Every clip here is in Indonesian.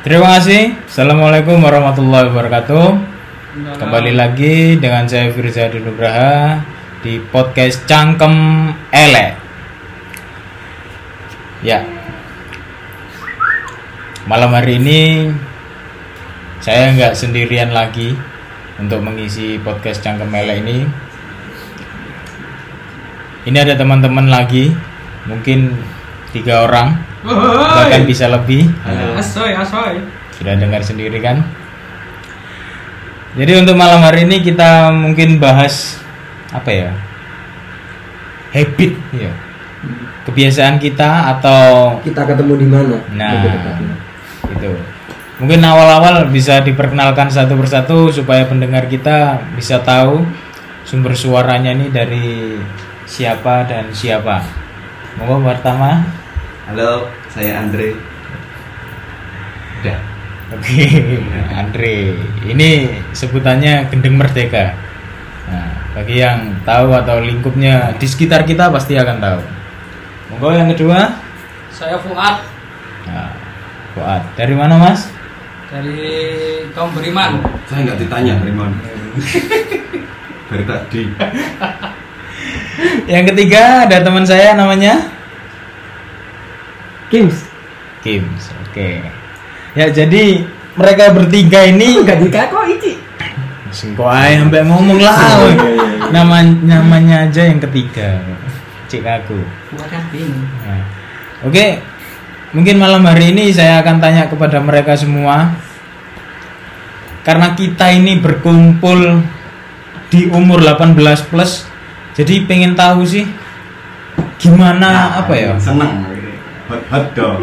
Terima kasih. Assalamualaikum warahmatullahi wabarakatuh. Kembali lagi dengan saya Firza Nugraha di podcast Cangkem Elek. Ya. Malam hari ini saya nggak sendirian lagi untuk mengisi podcast Cangkem Elek ini. Ini ada teman-teman lagi, mungkin 3 orang, bahkan bisa lebih. Asoy. Sudah dengar sendiri kan? Jadi untuk malam hari ini kita mungkin bahas apa ya? Habit ya. Kebiasaan kita atau kita ketemu di mana? Nah, itu. Mungkin awal-awal bisa diperkenalkan satu persatu supaya pendengar kita bisa tahu sumber suaranya ini dari siapa dan siapa. Monggo pertama. Halo, saya Andre. Udah. Oke, Andre. Ini sebutannya Gendeng Merdeka. Nah, bagi yang tahu atau lingkupnya di sekitar kita pasti akan tahu. Monggo yang kedua. Saya Fuad. Nah, Fuad. Dari mana, Mas? Dari kaum beriman. Saya nggak ditanya beriman. Dari tadi. Yang ketiga ada teman saya namanya Kims. Oke. Ya, jadi mereka bertiga ini Enggak dikako iki. singko ae sampai ngomong lah. Namanya aja yang ketiga. Cik aku. Fuad kan bingung. Nah, oke. Mungkin malam hari ini saya akan tanya kepada mereka semua. Karena kita ini berkumpul di umur 18 plus. Jadi pengen tahu sih gimana apa ya? Seneng. Hot dong.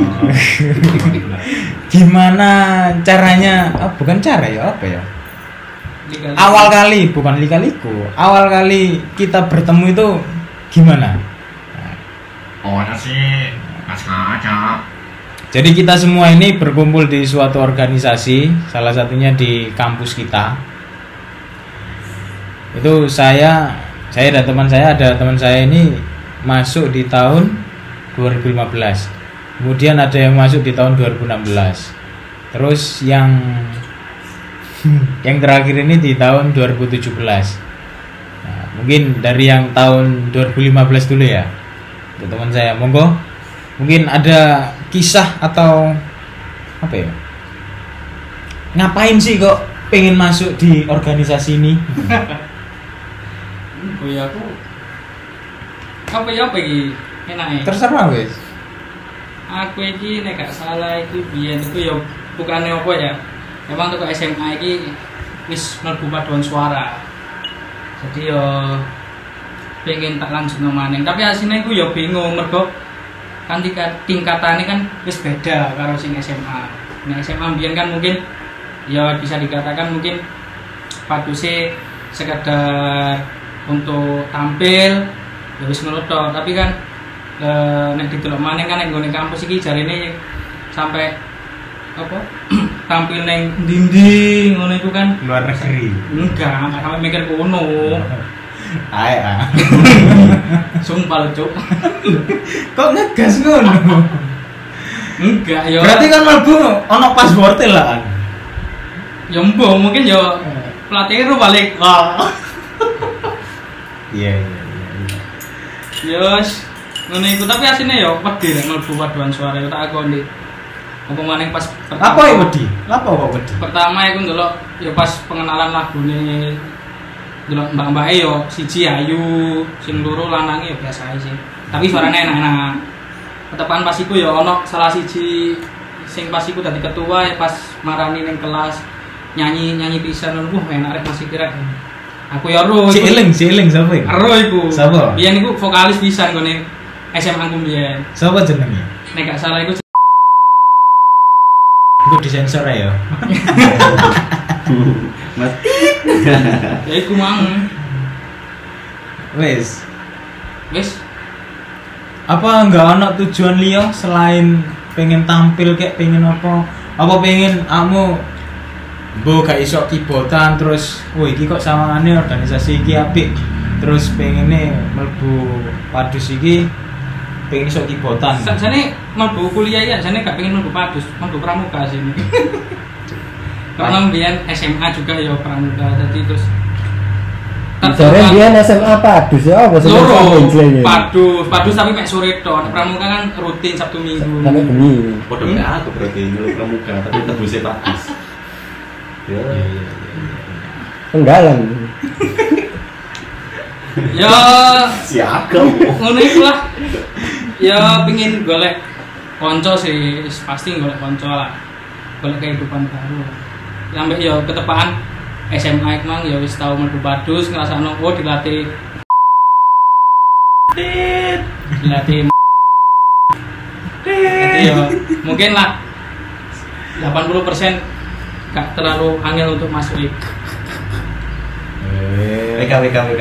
Gimana caranya? Bukan cara ya, apa ya? Liga-liga. Awal kali, bukan lika-liku. Awal kali kita bertemu itu gimana? Oh sih, kaca. Jadi kita semua ini berkumpul di suatu organisasi, salah satunya di kampus kita. Itu saya dan teman saya, ada teman saya ini masuk di tahun 2015. Kemudian ada yang masuk di tahun 2016. Terus yang terakhir ini di tahun 2017. Nah, mungkin dari yang tahun 2015 dulu ya. Untuk teman saya, monggo. Mungkin ada kisah atau apa ya? Ngapain sih kok pengen masuk di organisasi ini? Oh ya aku. Apa iki enake? Terserah wes. Aku iki nek gak salah iki biyen iku ya bukane apa ya? Emang tuh SMA iki wis mlebu paduan suara. Jadi yo pengen tak lanjut maneh. Tapi asline iku ya bingung mergo kan tingkatane kan wis beda karo sing SMA. Nek SMA biyen kan mungkin ya bisa dikatakan mungkin paduse sekedar untuk tampil ya wis ngono tok, tapi kan nek didelok maneh kan nek nggone kampus iki jarine sampai apa tampil neng dinding ngono iku kan Luar negeri. enggak sampai mikir kono. Ae Sumpah lho, Cuk. Kok ngegas ngono? Enggak ya. Berarti kan mlebu ono password lah kan. Ya mbok mungkin ya pelatihnya ru balik. Iya. Yes, ngono iku tapi asine ya wedi nek mlebu paduan suara ya tak akoni. Apa maneh pas Apa ya wedi? Apa kok wedi? Pertama iku ndelok ya pas pengenalan lagune ndelok mbak-mbake yo siji ayu, sing loro lanange ya biasa ae sih. Tapi suarane enak-enak. Ketepan pas iku ya ono salah siji sing pas iku dadi ketua ya pas marani ning kelas nyanyi pisan ngono enak rek masih kira. Aku ya ro. Si eling sapa iki? Ero iku. Sapa? Biyen iku vokalis pisan gone SMA ku biyen. Sapa jenenge? Nek gak salah iku Iku disensor ya. Mati. ya iku mang. Wes. Wis Apa enggak ada tujuan liya selain pengen tampil kayak pengen apa? Apa pengen kamu mbok gak iso kibotan terus iki kok sawangane organisasi iki apik terus pengene mlebu padus iki pengen iso kibotan. Sajane mlebu kuliah ya, jane gak pengen mlebu Padus, mlebu Pramuka sih. Karena mbiyen SMA juga ya Pramuka, jadi terus Jare biyen SMA Padus ya apa sih loro Padus tapi mek sore tok. Pramuka kan rutin Sabtu Minggu. sampai bengi. Podo kayak aku berarti nyeluk pramuka tapi tebusnya bagus. Ya. Penggalan. Ya Siagam. ngono iku lah. Ya pengin golek kanca sih, pasti golek kanca lah. Golek kehidupan baru. Sampai ya ketepaan SMA mang ya wis tau mlebu Padus ngrasakno dilatih jadi ya mungkin lah 80% gak terlalu angel untuk masuk itu. WK.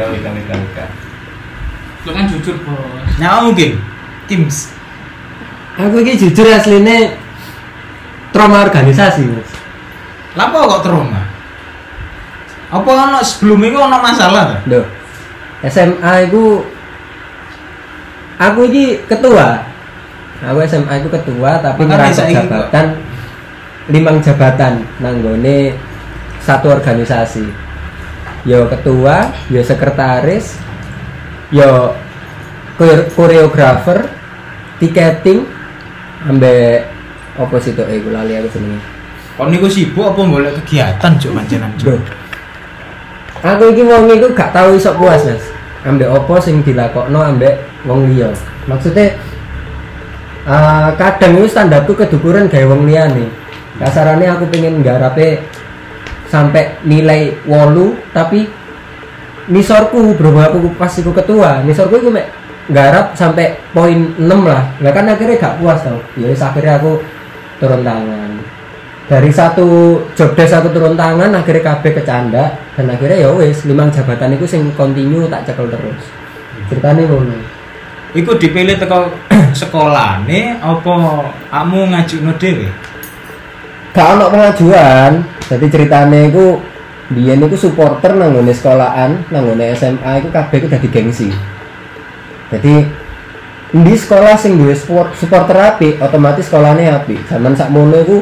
Lu kan jujur bos. Nah, mungkin Kims. Aku iki jujur asline trauma organisasi, Mas. Lapa kok trauma? Apa ono sebelumnya kok ono masalah ta? Loh. SMA itu aku iki ketua. Aku SMA itu ketua tapi Makanya ngerasa saiki jabatan 5 jabatan nanggone satu organisasi. Yo ketua, yo sekretaris, yo koreografer, tiketing, ambek apa sih tuh? Aku lali aku seneng. Kon niku sibuk apa golek kegiatan cuk pancenan cuk. Aku iki wong iku gak tau iso puas, Mas. Ambek opo sing dilakokno ambek wong liya. Maksudnya kadang itu standarku kedukuran gawe wong liyane. Kasarane aku pengen nggarepe sampai nilai 8 tapi nisorku berhubung aku pas iku ketua, nisorku iku mek nggarap sampai poin 6 lah. Lah kan akhirnya gak puas tau. Ya wis akhirnya aku turun tangan. Dari satu job desk aku turun tangan akhirnya kabeh kecanda dan akhirnya ya wis 5 jabatan itu sing continue tak cekel terus. Ceritane ngono. Iku dipilih teko sekolahne apa kamu ngajukno dhewe? Gak ono pengajuan. Jadi ceritane iku biyen iku supporter nang ngene sekolahan, nang ngene SMA iku kabeh iku dadi gengsi. Jadi di sekolah sing duwe supporter apik, otomatis sekolahane apik. Zaman sakmono iku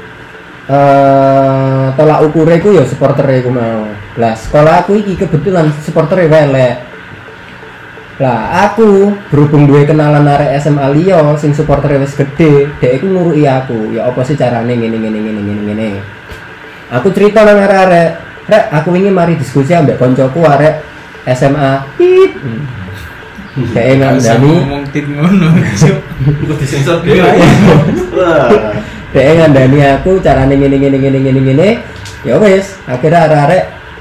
tolak ukurnya ku ya supporter ku mau. Lah sekolah aku iki kebetulan supporter elek. Lah aku berhubung duwe kenalan arek SMA liya sing supporter wis gede, dhek iku nguruki aku. Ya apa sih carane ngene. Aku cerita nang arek-arek, "Rek, aku wingi mari diskusi ambek koncoku arek SMA." Tit. Dhek ngandani ngomong tit ngono cuk. Iku disensor dhewe. Wah. Dhek ngandani aku carane ngene. Ya wis, akhirnya arek-arek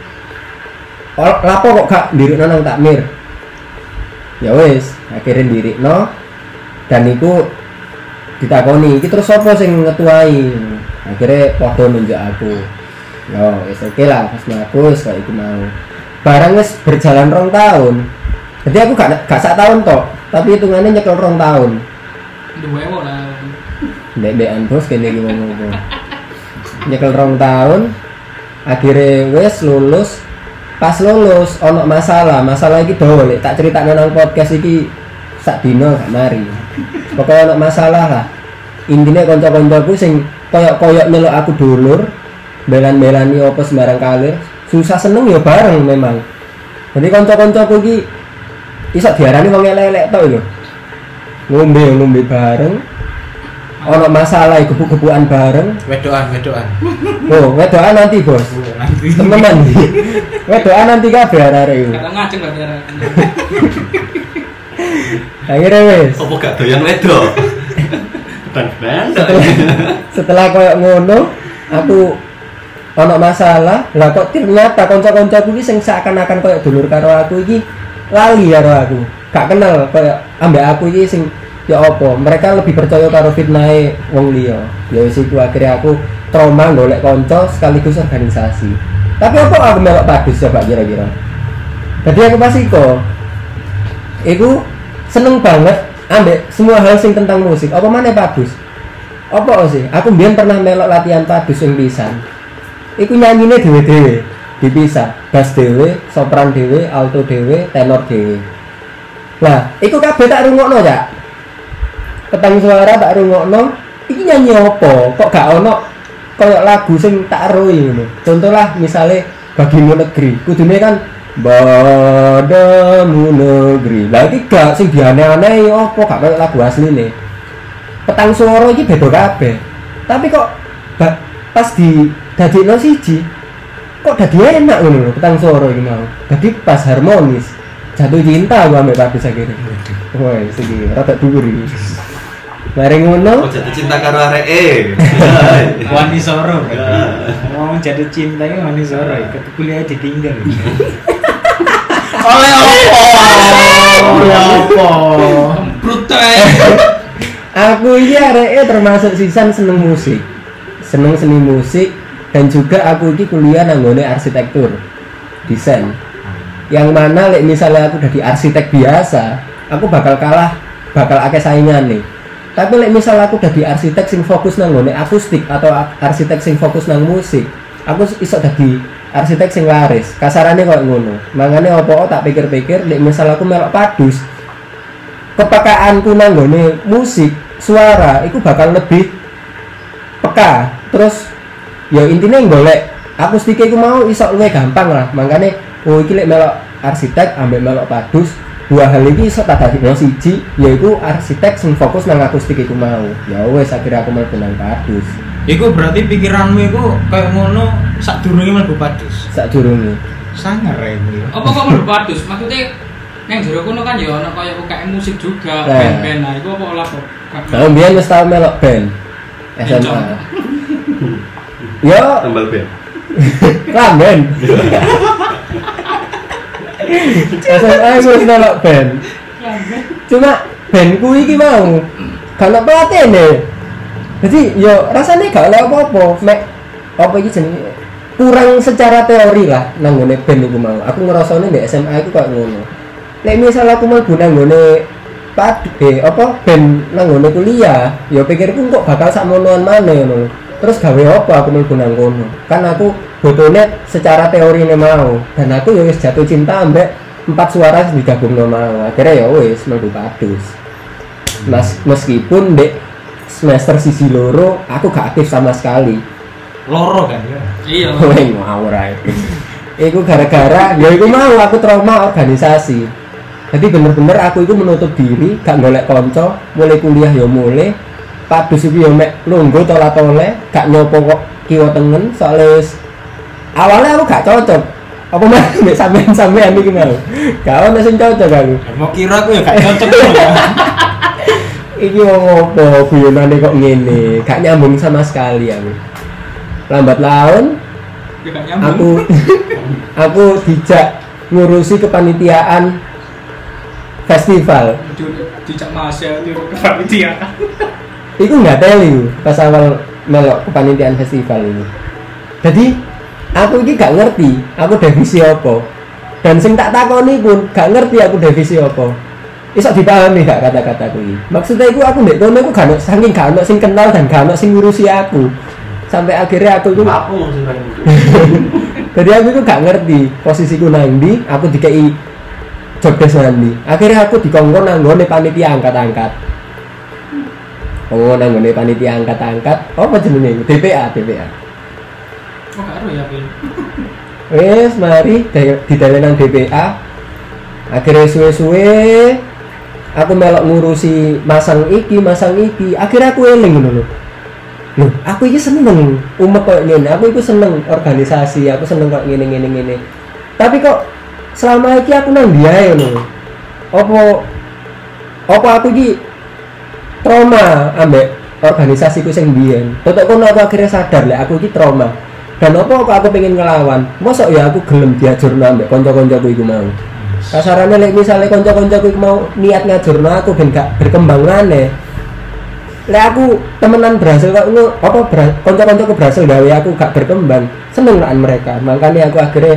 lapo kok gak ndirikno nang takmir. Ya wis, akhirnya ndirikno dan iku ditakoni, iki terus sapa sing ngetuai? Akhirnya padha nunjuk aku. Ya wis oke lah, pas aku wis kaya iku mau. Barang wis berjalan 2 tahun. Jadi aku gak sak tahun tok, tapi hitungannya nyekel 2 tahun. Duwe lah. Dek-dekan bos kene iki ngomong. Nyekel 2 tahun. Akhirnya wis lulus. Pas lulus ono masalah iki dawa lek tak critakno nang podcast iki sak dino gak mari. Pokoknya ono masalah lah. Intine kanca-kancaku sing koyok-koyok melok aku dulur, belan-belani apa sembarang kalir, susah seneng ya bareng memang. Jadi kanca-kancaku iki iso diarani wong elek-elek tok lho. Ngombe bareng. Ono masalah gebuk-gebukan bareng. Wedoan. Oh, wedoan nanti, Bos. Nanti. Temenan. Wedoan nanti kabeh arek iku. Kata ngajeng berarti arek. Akhirnya wis. Apa gak doyan wedok? Ben. Setelah koyo ngono, aku ono masalah. Lah kok ternyata kanca-kancaku iki sing seakan-akan koyo dulur karo aku iki lali karo aku. Gak kenal koyo ambek aku iki sing ya apa, mereka lebih percaya karo fitnahe wong liya. Ya wis iku akhirnya aku trauma golek kanca sekaligus organisasi. Tapi apa aku melok Padus coba kira-kira. Jadi aku pas iku seneng banget ambek semua hal sing tentang musik. Apa maneh Padus? Apa sih? Aku mbiyen pernah melok latihan Padus sing pisan. Iku nyanyine dhewe-dhewe, dipisah. Bass dhewe, sopran dhewe, alto dhewe, tenor dhewe. Lah, iku kabeh tak rungokno, Cak. petang suara tak rungokno iki nyanyi apa kok gak ono koyo lagu sing tak eruhi ngono. Contoh lah misale Bagimu Negeri kudune kan Padamu Negeri. Lah iki gak sing dianeh-aneh apa gak koyo lagu asline. Petang suara iki beda kabeh. Tapi kok pas di dadekno siji kok dadi enak ngono lho petang suara iki mau. Dadi pas harmonis. Jatuh cinta gua ambek Padus akhirnya. Wah, iki rada dhuwur iki. Mari ngono. Kok jatuh cinta karo areke. Wani soro. Mau jatuh cinta iki wani soro. Kuliah ditinggal. Oleh opo? Oleh opo? Brutal. Aku ini areke termasuk sisan seneng musik. Seneng seni musik dan juga aku ini kuliah nanggone arsitektur. Desain. Yang mana lek misalnya aku jadi arsitek biasa, aku bakal akeh saingan nih. Tapi lek misalnya aku jadi arsitek sing fokus nang nggone akustik atau arsitek sing fokus nang musik, aku iso dadi arsitek sing laris. Kasarane koyo ngono. Mangane opo tak pikir-pikir lek misalnya aku melok Padus, kepekaanku nang nggone musik, suara iku bakal lebih peka. Terus ya intinya golek akustik iku mau iso luwih gampang lah. Mangane iki lek melok arsitek ambek melok Padus, dua hal ini iso tak dadekno siji, yaiku arsitek sing fokus nang akustik iku mau. Ya wes akhirnya aku mlebu nang Padus. Iku berarti pikiranmu iku kayak ngono sadurunge mlebu Padus. Sadurunge. Sangar ya iki. Apa kok mlebu Padus? Maksudnya nang jero kono kan ya ono kaya UKM musik juga, band-band. Nah, iku apa olah kok? Nah, mbiyen wis tau melok band SMA. Yo, Tambal band. Klamben. SMA aku wis melok band. Cuma bandku iki mau gak ono pelatihne. Jadi yo rasanya gak oleh apa-apa. Mek apa iki jenenge kurang secara teori lah nang ngene band iku mau. Aku ngrasane di SMA iku koyo ngono. Nek misal aku mlebu nang ngene band nang ngene kuliah, ya pikirku kok bakal sakmonoan maneh ngono. Terus gawe apa aku mlebu nang kono? Kan aku botone secara teorine mau dan aku ya wis jatuh cinta ambek 4 suara digabungno mau. Akhirnya ya wis mlebu Padus. Meskipun dek semester sisi loro aku gak aktif sama sekali. Loro kan ya. Iya. Woi ngawur ae. Iku gara-gara ya iku mau aku trauma organisasi. Jadi bener-bener aku itu menutup diri, gak golek kanca, mulai kuliah ya mulai. Padus iki ya mek lungguh tola-tole, gak nyopo kok kiwa tengen soalnya awalnya aku gak cocok. Apa mah mek sampean iki mau. Gak ono sing cocok aku. Mau kira aku ya gak cocok ya. Iki wong opo guyonane kok ngene, gak nyambung sama sekali aku. Lambat laun Ya gak nyambung. aku dijak ngurusi kepanitiaan festival. Dijak Mas ya di kepanitiaan. Iku nggak teli pas awal melok kepanitiaan festival ini. Jadi aku ini gak ngerti aku divisi apa. Dan sing tak takoni pun gak ngerti aku divisi apa. Iso dipahami gak kata-kataku ini. Maksudnya aku ndek kono aku gak ono saking gak ono sing kenal dan gak ono sing ngurusi aku. Sampai akhirnya aku itu Aku sing nang itu. jadi aku itu gak ngerti posisiku nang ndi, aku dikei job desk nanti. Akhirnya aku dikongkon nang nggone panitia angkat-angkat. Oh, nang nggone panitia angkat-angkat. Apa jenenge? DPA. Oh, gak ero ya, Ben. Wes mari didale nang DPA. Akhirnya suwe-suwe aku melok ngurusi masang iki. Akhirnya aku eling ngono lho. Loh, aku iki seneng umek koyo ngene. Aku iku seneng organisasi, aku seneng kok ngene. Tapi kok selama iki aku nang diae ngono. Apa aku iki trauma ambek organisasiku sing biyen. Tetok kono aku akhirnya sadar lek aku iki trauma. Dan apa kok aku pengen ngelawan? Mosok ya aku gelem diajurno ambek kanca-kancaku iku mau. Kasarane lek misale kanca-kancaku iku mau niat ngajurno aku ben gak berkembang maneh. Lek aku temenan berhasil kok kanca-kancaku berhasil gawe aku gak berkembang, seneng lah mereka. Makanya aku akhirnya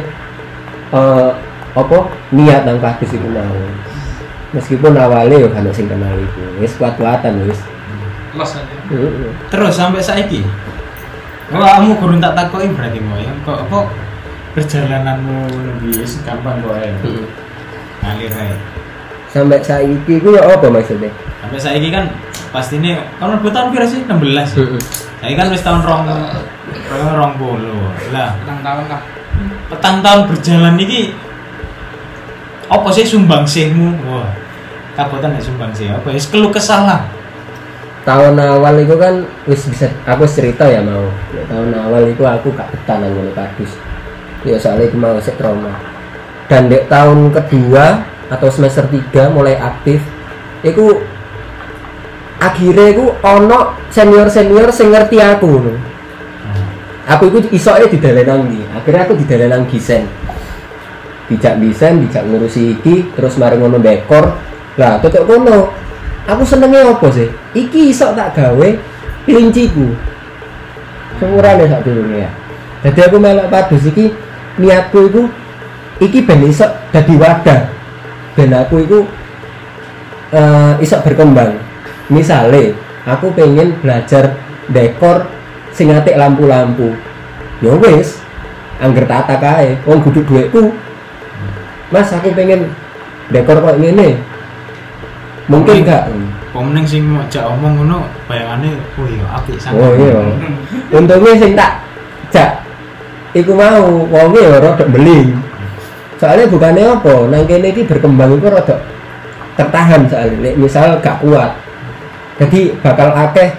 niat nang Padus iku mau. Meskipun awalnya yo kan sing kenal iku. Wis kuat-kuatan wis. Los aja. Terus sampai saiki. Kamu kurang tak takoki berarti mau ya. Kok apa perjalananmu lebih gampang kok ya. Ngalir ae. Sampai saiki iku yo apa maksudnya? Sampai saiki kan pasti ini kalau lebih tahun kira sih 16 ya. Saya kan wis tahun rong puluh lah. Petang tahun lah. Petang tahun berjalan ini apa sih sumbangsihmu? Wah, kabutan ya sumbangsih apa ya? Keluh kesah lah. Tahun awal itu kan wis bisa aku cerita ya mau. Ya, tahun awal itu aku gak betah nang ngene padus. Ya soalnya itu mau sik trauma. Dan di tahun kedua atau semester 3 mulai aktif iku akhirnya iku ono senior-senior sing ngerti aku lho. Aku iku isoke didalenang ndi. Akhirnya aku didalenang Gisen. Dijak Gisen, dijak ngurusi iki, terus mari ngono dekor. Lah, tutuk kono. Aku senenge apa sih? Iki iso tak gawe kelinciku. Semurane sak durunge ya. Jadi aku melok padus iki niatku iku iki ben iso dadi wadah. Ben aku iku iso berkembang. Misale aku pengen belajar dekor sing atik lampu-lampu. Ya wis, angger tata kae, wong kudu dhuwitku. Mas, aku pengen dekor kok ngene. Mungkin gak. Pemenang sing jak omong ngono bayangane oh iya apik sangat. Oh iya. Untungnya sing tak jak iku mau wonge ya rada beling. Soalnya bukannya apa, nang kene iki berkembang iku rada tertahan soalnya. Misal gak kuat. Jadi bakal akeh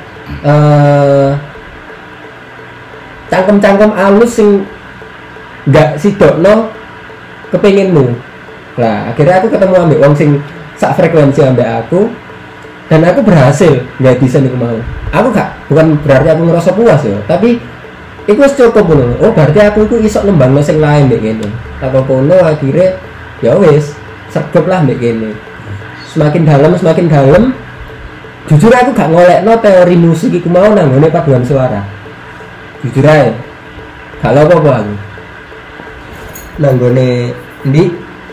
cangkem-cangkem alus sing gak sidokno kepenginmu. Lah akhirnya aku ketemu ambek wong sing sak frekuensi ambek aku dan aku berhasil nggak bisa nih mau. Aku bukan berarti aku ngerasa puas ya, tapi itu cukup loh. Oh berarti aku itu isok nembangno sing lain mbek kene. Tak kono akhirnya ya wis sergep lah mbek kene. Semakin dalam jujur aku gak ngolekno teori musik iku mau nang ngene paduan suara. Jujur ae. Gak lho apa aku. Nang ngene ndi?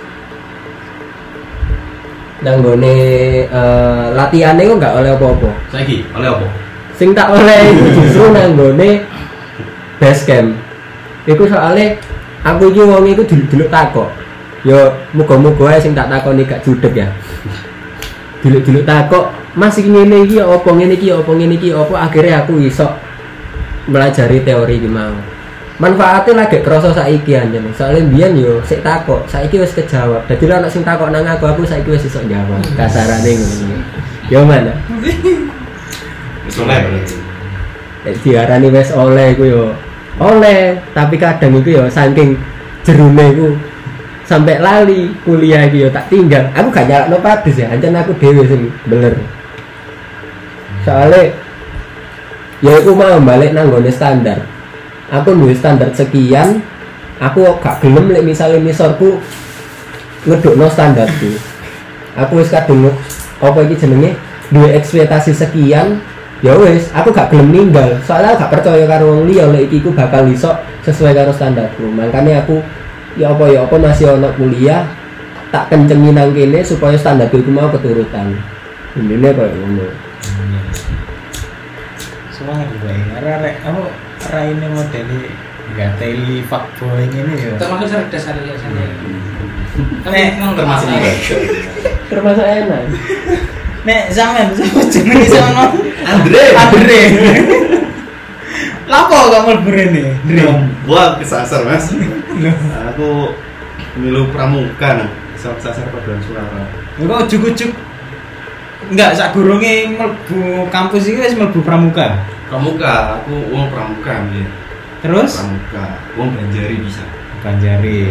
Nang ngene latihane kok gak oleh apa-apa. Saiki oleh apa? Sing tak oleh iku justru nang ngene base camp. Iku soalnya aku iki wong iku dulu takok. Ya muga-muga ae sing tak takoni gak judeg ya. Dulu takok, "Mas iki ngene iki apa ngene iki apa ngene iki apa?" Akhirnya aku iso melajari teori iki mau. Manfaatnya lagi kerasa saiki anjen. Soalnya mbiyen yo sik takok, saiki wis kejawab. Dadi ana sing takok nang aku saiki wis iso jawab. Kasarane ngono. Yo mana? Wis oleh berarti. Diarani wis oleh iku yo. Oleh, tapi kadang iku yo saking jerune iku sampai lali kuliah iki yo tak tinggal. Aku gak nyalakno padus ya, ancen aku dhewe sing bener. Soalnya ya aku mau balik nang gone standar. Aku duwe standar sekian, aku gak gelem lek misale misorku ngedukno standarku. Aku wis kadung apa iki jenenge duwe ekspektasi sekian, ya wis aku gak gelem ninggal. Soalnya aku gak percaya karo wong liya lek iki ku bakal iso sesuai karo standarku. Makanya aku ya apa masih ono kuliah tak kencengi nang kene supaya standarku iku mau keturutan. Intine koyo ngono. Semangat gue, arek aku raine modeli nggak teli fuckboy ini ya. Termasuk cerdas hari ya saya. Termasuk Termasuk enak. Nek zaman jenenge sama Andre. Lapo gak mlebu rene? Gua kesasar Mas. Aku milu pramuka nang kesasar paduan suara. Kok ujuk-ujuk enggak sak gurunge mlebu kampus iki wis mlebu pramuka. Pramuka, aku wong pramuka nggih. Terus Pramuka, wong Banjari bisa. Banjari.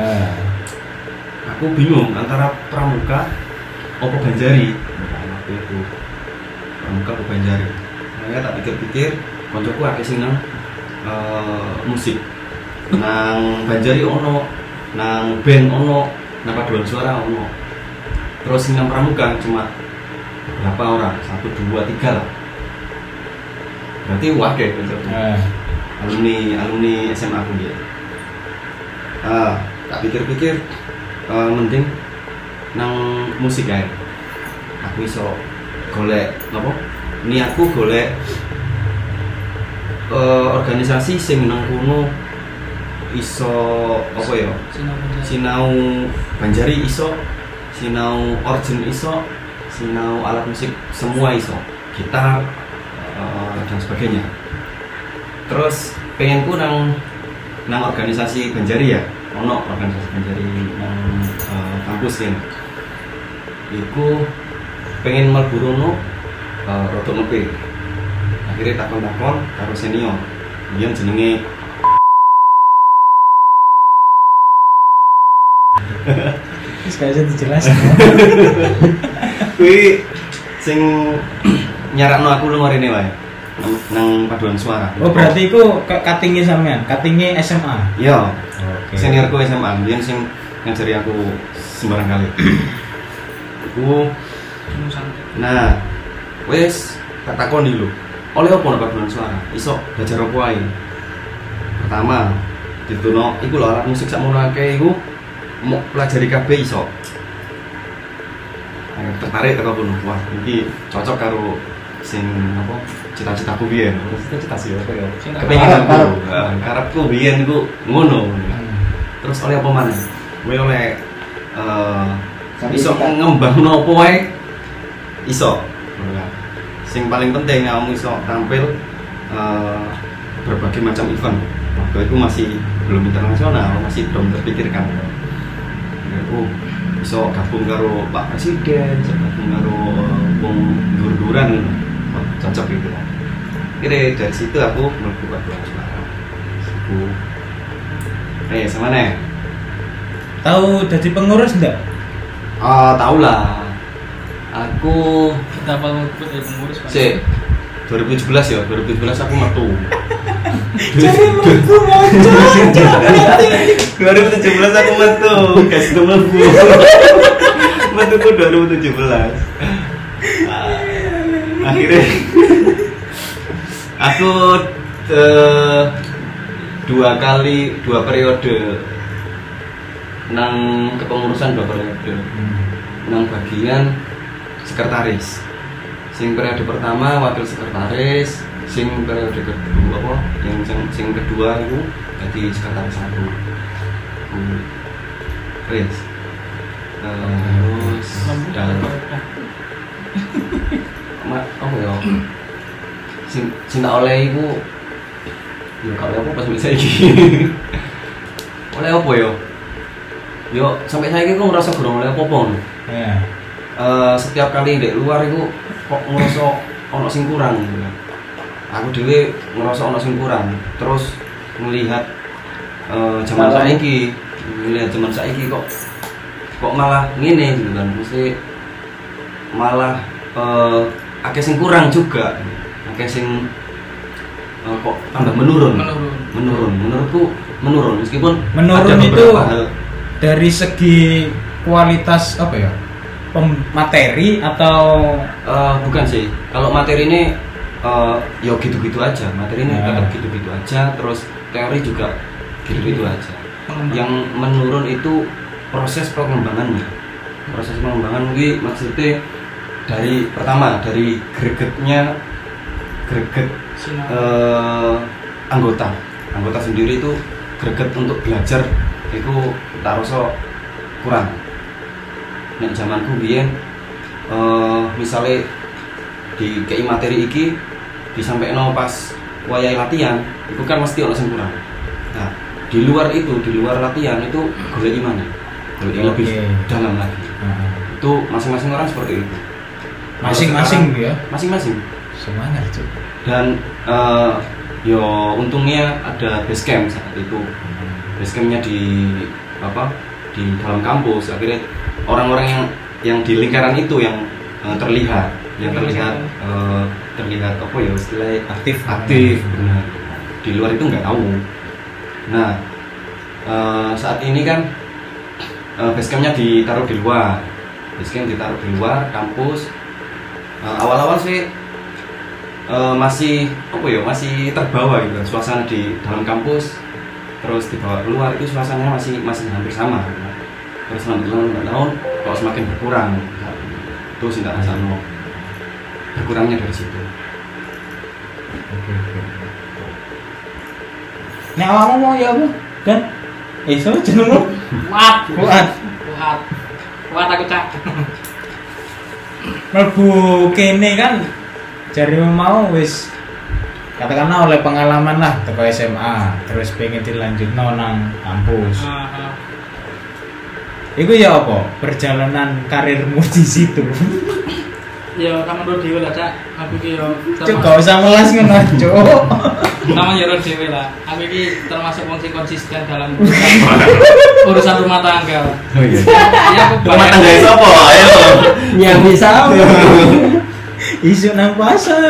Aku bingung antara pramuka apa Banjari. Waktu itu pramuka apa Banjari. Makanya tak pikir-pikir, koncoku akeh sing nang musik. Nang Banjari ono, nang band ono, nang paduan suara ono. Terus sing nang pramuka cuma berapa orang? 1, 2, 3 lah. Berarti wakil koncoku. Alumni SMA aku dia. Tak pikir-pikir mending nang musik ae. Aku iso golek apa? Niatku golek organisasi sing nang kono iso apa ya? Sinau Banjari iso, sinau organ iso, sinau alat musik semua iso. gitar dan sebagainya. Terus pengenku nang organisasi Banjari ya, ono organisasi Banjari nang kampus kan. Iku pengen mlebu rono rada nepe. Akhirnya takon-takon karo senior. Biyen jenenge Terus gak bisa dijelasin. kuwi sing nyarakno aku lunga rene wae. Nang paduan suara. Oh berarti iku cutting-e sampean, cutting-e SMA. Iya. Oke. Seniorku SMA, biyen sing ngajari aku sembarang kali. Iku nah, wes tak takoni lho. Oleh apa nek paduan suara? Iso belajar apa ae? Pertama, dituno iku lho alat musik sakmono akeh iku mau pelajari kabeh iso. Tertarik karo kono. Wah, iki cocok karo sing apa? Cita-citaku biyen. Cita-cita sih apa ya? Kepengenanku. Karepku biyen iku ngono. Terus oleh apa maneh? Kowe oleh iso ngembangno apa wae iso. Sing paling penting kamu iso tampil berbagai macam event. Waktu itu masih belum internasional, masih belum terpikirkan. Aku iso gabung karo Pak Presiden, iso gabung karo wong dur-duran, cocok gitu lah. Kira dari situ aku mlebu paduan suara. Aku sama nih. Tahu jadi pengurus enggak? Tahu lah. Aku Kita bakal pengurus Pak. sih 2017 ya, 2017 aku metu. Jadi mlebu moncong. 2017 aku metu, guys, itu mlebu. Metu ku 2017. Akhirnya aku dua periode nang kepengurusan 2 periode. Nang bagian sekretaris. Sing periode pertama wakil sekretaris, sing periode kedua apa? Yang sing kedua itu jadi sekretaris aku. Terus dan apa ya? Sing tak oleh iku ya kalau apa pas bisa iki. Oleh apa ya? Yo sampai saya aku ngerasa kurang oleh apa-apa. Ya. Setiap kali di luar itu kok ngerasa ono sing kurang gitu. Aku dhewe ngerasa ono sing kurang. Terus melihat zaman saiki, kok malah ngene gitu kan. Mesti malah akeh sing kurang juga. Akeh sing kok tambah menurun. Menurutku menurun meskipun Menurun ada beberapa itu hal. Dari segi kualitas apa ya? Materi atau bukan sih. Kalau materi ini ya gitu-gitu aja. Materi ini tetap gitu-gitu aja. Terus teori juga gitu-gitu aja. Yang menurun itu proses pengembangannya. Proses pengembangan ini maksudnya dari pertama dari greget anggota sendiri itu greget untuk belajar itu tak rasa kurang. Nek zamanku biyen misalnya di KI materi iki disampaikan pas wayahe latihan itu kan mesti ono sing kurang. Nah, di luar latihan itu golek mana? Golek lebih dalam lagi. Itu masing-masing orang seperti itu. masing-masing ya? Masing-masing. Semangat tuh. Dan yo untungnya ada base camp saat itu. Base campnya di dalam kampus. Akhirnya orang-orang yang di lingkaran itu yang terlihat apa ya istilahnya aktif benar. Di luar itu nggak tahu. Nah saat ini kan base campnya ditaruh di luar. Base camp ditaruh di luar kampus. Awal-awal sih masih masih terbawa gitu suasana di dalam kampus. Terus dibawa keluar itu suasananya masih hampir sama. Terus lambat laun kalau semakin berkurang itu sih tidak rasanya berkurangnya dari situ. Nek awakmu mau ya apa? Dan so jenengmu Kuat aku cak. mlebu kene kan jarimu mau wis katakanlah oleh pengalaman lah teko SMA terus pengen dilanjutno nang kampus. Iku ya apa? Perjalanan karirmu di situ. Ya sama ro dhewe lah, Cak. Aku ki yo Cuk, gak usah melas ngono, Cuk. sama yo ro dhewe lah. Aku ki termasuk wong sing konsisten dalam urusan rumah tangga. Oh iya. Ya aku Rumah tangga sapa? Ayo. Nyambi sama. Isu nang pasar.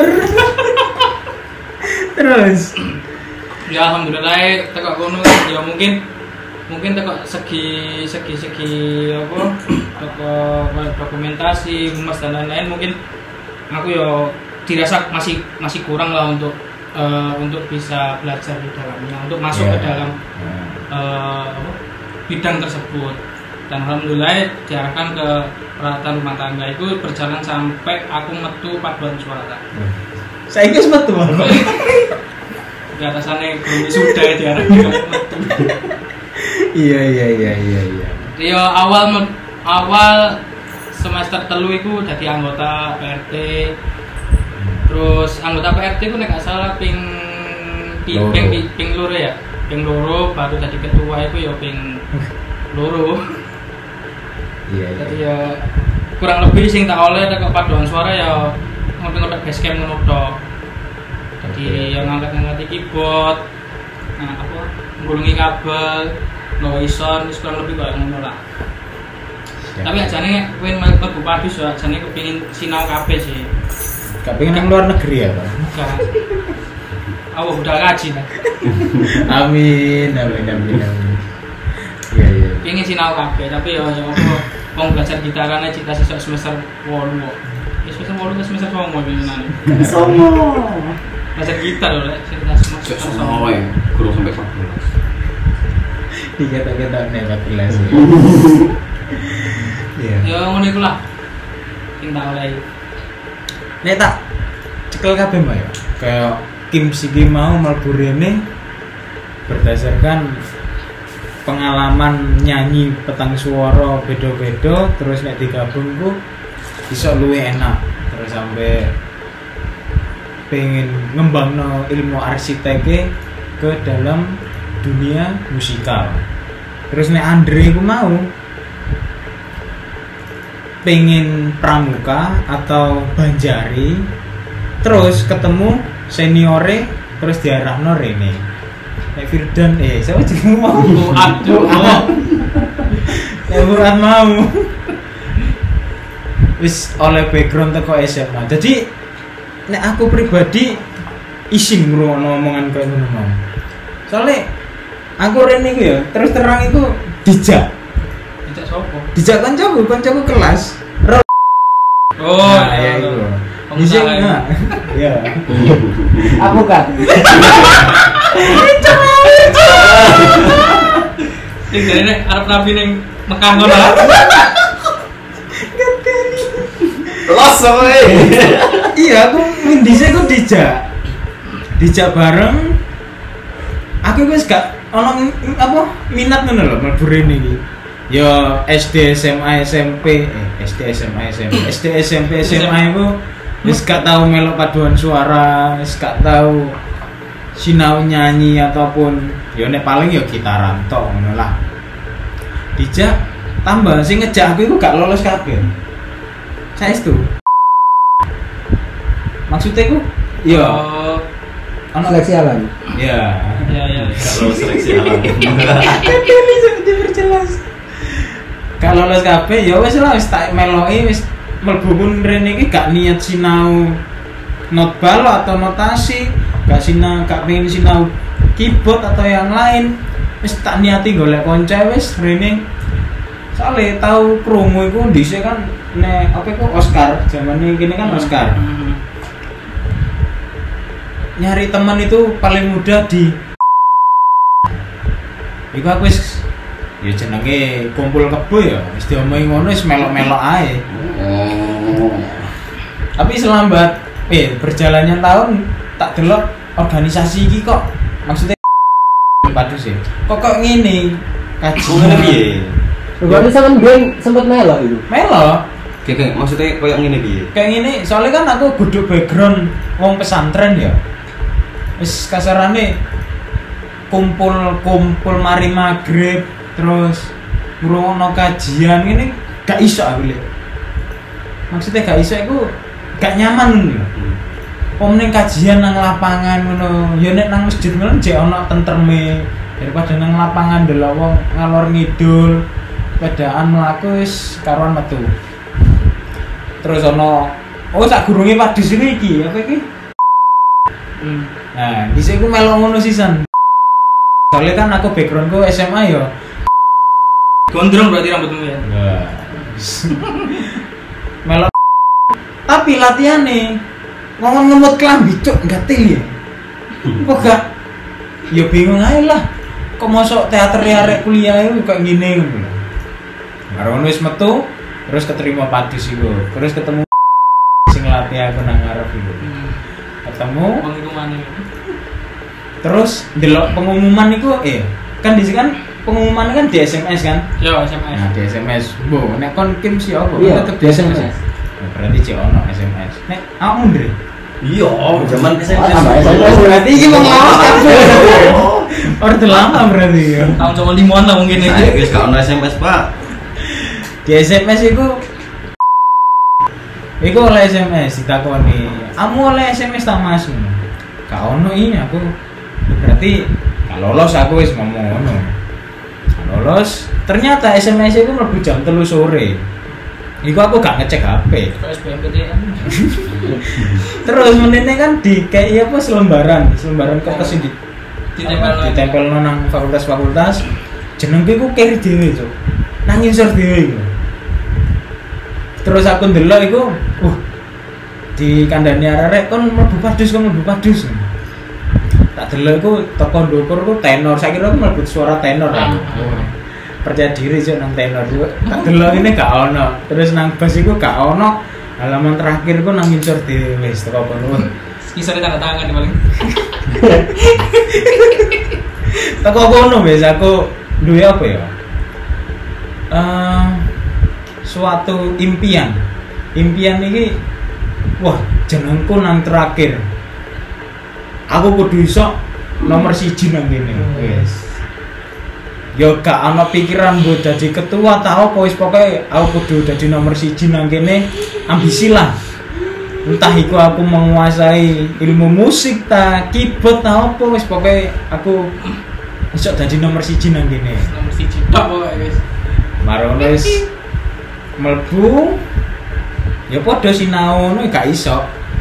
Terus ya alhamdulillah teko kono ya mungkin teko segi apa teko dokumentasi humas dan lain-lain mungkin aku yo dirasa masih kurang lah untuk bisa belajar di dalamnya untuk masuk ke dalam apa, bidang tersebut dan alhamdulillah diarahkan ke peralatan rumah tangga itu berjalan sampai aku metu paduan suara. saya wis metu aku. Di atasannya belum sudah diarahkan ke metu. Iya. Ya awal semester telu iku jadi anggota PRT. Terus anggota PRT ku nek gak salah ping loro ya. Ping loro baru jadi ketua iku ya ping loro. Iya. Jadi ya kurang lebih sing tak oleh teko paduan suara ya ngopi-ngopi basecamp ngono tok. Jadi yang ngangkat-ngangkat keyboard, nah apa nggulungi kabel, noise sound, kurang lebih kayak ngono lah. Tapi ajane kowe mlebu padu so ajane kepengin sinau kabeh sih. Gak pengen nang luar negeri ya, Pak? Bukan. Aku udah ngaji lah. Amin. Iya. Pengen sinau kabeh tapi ya apa wong belajar gitarane cita sesuk semester 8 kok. Semester 8 ke semester 9 bingunane. Somo. Belajar gitar lho lek semester 9. Semua ya, guru sampai 14. Dikata-kata nek 14. Iya. Ya ngono iku lah. Sing tak oleh. Nek tak cekel kabeh Mbak ya. Kayak Kim Sigi mau mlebu rene berdasarkan pengalaman nyanyi petang suara beda-beda terus nek digabung ku bisa luwih enak terus sampai pengen ngembangno ilmu arsiteknya ke dalam dunia musikal. Terus nek Andre ku mau pengen pramuka atau banjari terus ketemu seniore terus diarahno rene. Nek Firdan siapa jenenge mau? Aduh. Nek Murad mau wis oleh background teko SMA. Jadi nek aku pribadi isin ngrungokno omongan koyo ngono mau. Soale aku rene iku ya terus terang iku dijak. Dijak sopo? Dijak kancaku kelas. Oh, ya iku. Kamu Dijak salah. enggak? Ya. Aku kan. Sing jarene arep nabi ning Mekah ngono. Los soe. Iya, aku ndise ku dijak bareng. Aku wis gak ono apa minat ngono lho mlebu rene iki. Ya SD, SMA, SMP, SD, SMA, iku wis gak tau melok paduan suara, wis gak tau sinau nyanyi ataupun ya nek paling ya gitaran tok ngono lah. Dijak tambah sing ngejak aku iku gak lolos kabeh. Saestu. Maksudnya iku ya ono Seleksi alam. ya. Ya. Kalau seleksi alam. Bisa diperjelas. Kalau lolos kabeh ya wis lah wis tak meloki wis mlebu pun rene iki gak niat sinau not balo atau notasi, gak pengen sinau keyboard atau yang lain. Wis tak niati golek konco wis rene. Soale tau promo iku dhisik kan nek apa iku Oscar, zamane kene kan Oscar. Nyari teman itu paling mudah di iku aku wis ya jenenge kumpul kebo ya wis diomongi ngono wis melok-melok ae. Tapi selambat berjalannya tahun tak delok organisasi iki kok maksudnya padu sih. Kok ngene kaji ngene piye? Enggak bisa kan gue sempet melok itu. Melok. Kayak maksudnya koyo ngene piye? Kayak gini, soalnya kan aku kudu background wong pesantren ya. Wis kasarane kumpul mari maghrib terus ngrungokno kajian ini gak iso aku lihat. Maksudnya gak iso aku gak nyaman lho. Ning kajian nang lapangan ngono, ya nek nang masjid ngono jek ana tentreme daripada nang lapangan delok wong ngalor ngidul, pedaan mlaku wis karuan metu. Terus ono sak gurunge wadis iki apa iki? Nah, dhisik ku melok ngono sisan. Soalnya kan aku backgroundku SMA ya. Gondrong berarti rambutmu ya. Melok. Tapi latihane ngomong ngemut klambi cuk gatel ya. Kok gak ya bingung ae lah. Kok mosok teater arek kuliah itu kayak gini ngono. Baru wis metu terus keterima padus iku. Terus ketemu sing latih aku nang ngarep iku. Ketemu Pengumuman ini. terus delok pengumuman itu kan di sini kan pengumuman kan di SMS kan. Yo SMS. Nah di SMS bu nek kon kim sih apa Iya, tetep di SMS. Nah, berarti cek ono SMS nek aku ndre Iya, zaman SMP. berarti ini mau ngelawas kabeh order lama berarti ya Tahun cuma 5-an lah mungkin Saya ini. wis gak ono SMS, Pak. di SMS itu oleh SMS ditakoni kamu oleh SMS tak mas gak ono ini aku berarti gak lolos aku wis ngomong ngono gak lolos ternyata SMS itu mlebu jam 3 sore iku aku gak ngecek HP SBMPTN. terus menene kan di kayak apa selembaran kertas ini ditempel nang fakultas jenengku ku keri dhewe cuk nang insur dhewe iku terus aku ndelok iku di kandhane arek kon mlebu padus tak delok iku teko ndukur ku tenor saiki aku mlebu suara tenor aku percaya diri cuk nang tenor cuk tak delok ini gak ono terus nang bass iku gak ono halaman terakhir ku nang insur dhewe wis teko kono Kisahnya tanda tangan paling. teko kono wis aku duwe apa ya suatu impian ini wah jenengku nang terakhir aku kudu iso nomor 1 nang kene wis yo gak ana pikiran mbok dadi ketua ta apa wis pokoke aku kudu dadi nomor 1 nang kene ambisi lah entah iku aku menguasai ilmu musik ta keyboard ta apa wis pokoke aku iso dadi nomor 1 nang kene Nomor 1 tok pokoke wis. Marono wis mlebu ya padha sinau ngono gak iso.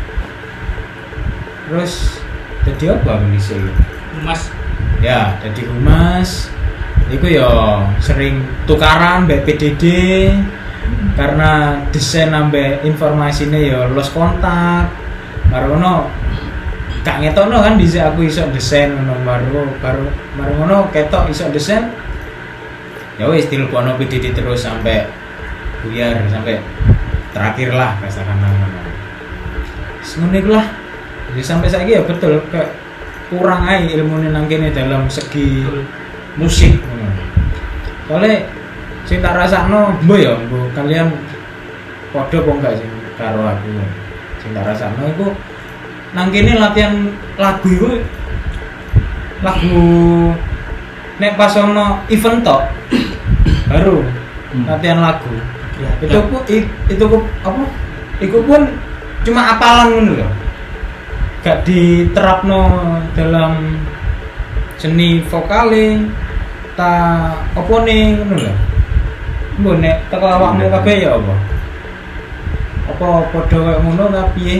Terus dadi apa bisa Mas ya dadi humas iku ya sering tukaran mbek PDD karena desain ambek informasine ya lost kontak marono gak ngetokno kan dhisik aku iso desain ngono baru ngono ketok iso desain ya wis telepono PDD terus sampai buyar sampai terakhir lah kasaran ngono. Ngono iku lah. Jadi sampai saiki ya betul kayak kurang ae ilmune nang kene dalam segi musik ngono. Soale sing tak rasakno mbo ya mbo kalian padha apa enggak sih karo aku. Sing tak rasakno iku nang kene latihan lagu iku lagu nek pas ono event tok baru latihan lagu itu pun apa itu pun cuma apalan ngono lho gak diterapno dalam seni vokale ta apa ning ngono lho mbok nek teko awakmu kabeh ya apa padha kaya ngono ta piye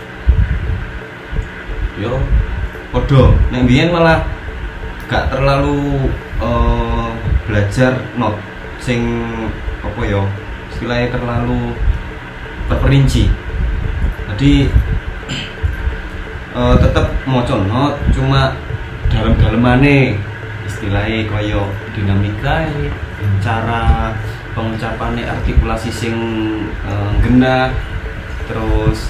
Yo podo nek mbiyen malah gak terlalu belajar not sing apa ya istilahnya terlalu terperinci jadi tetep maca not cuma dalam-dalemane istilahnya kaya dinamika cara pengucapannya artikulasi sing genah terus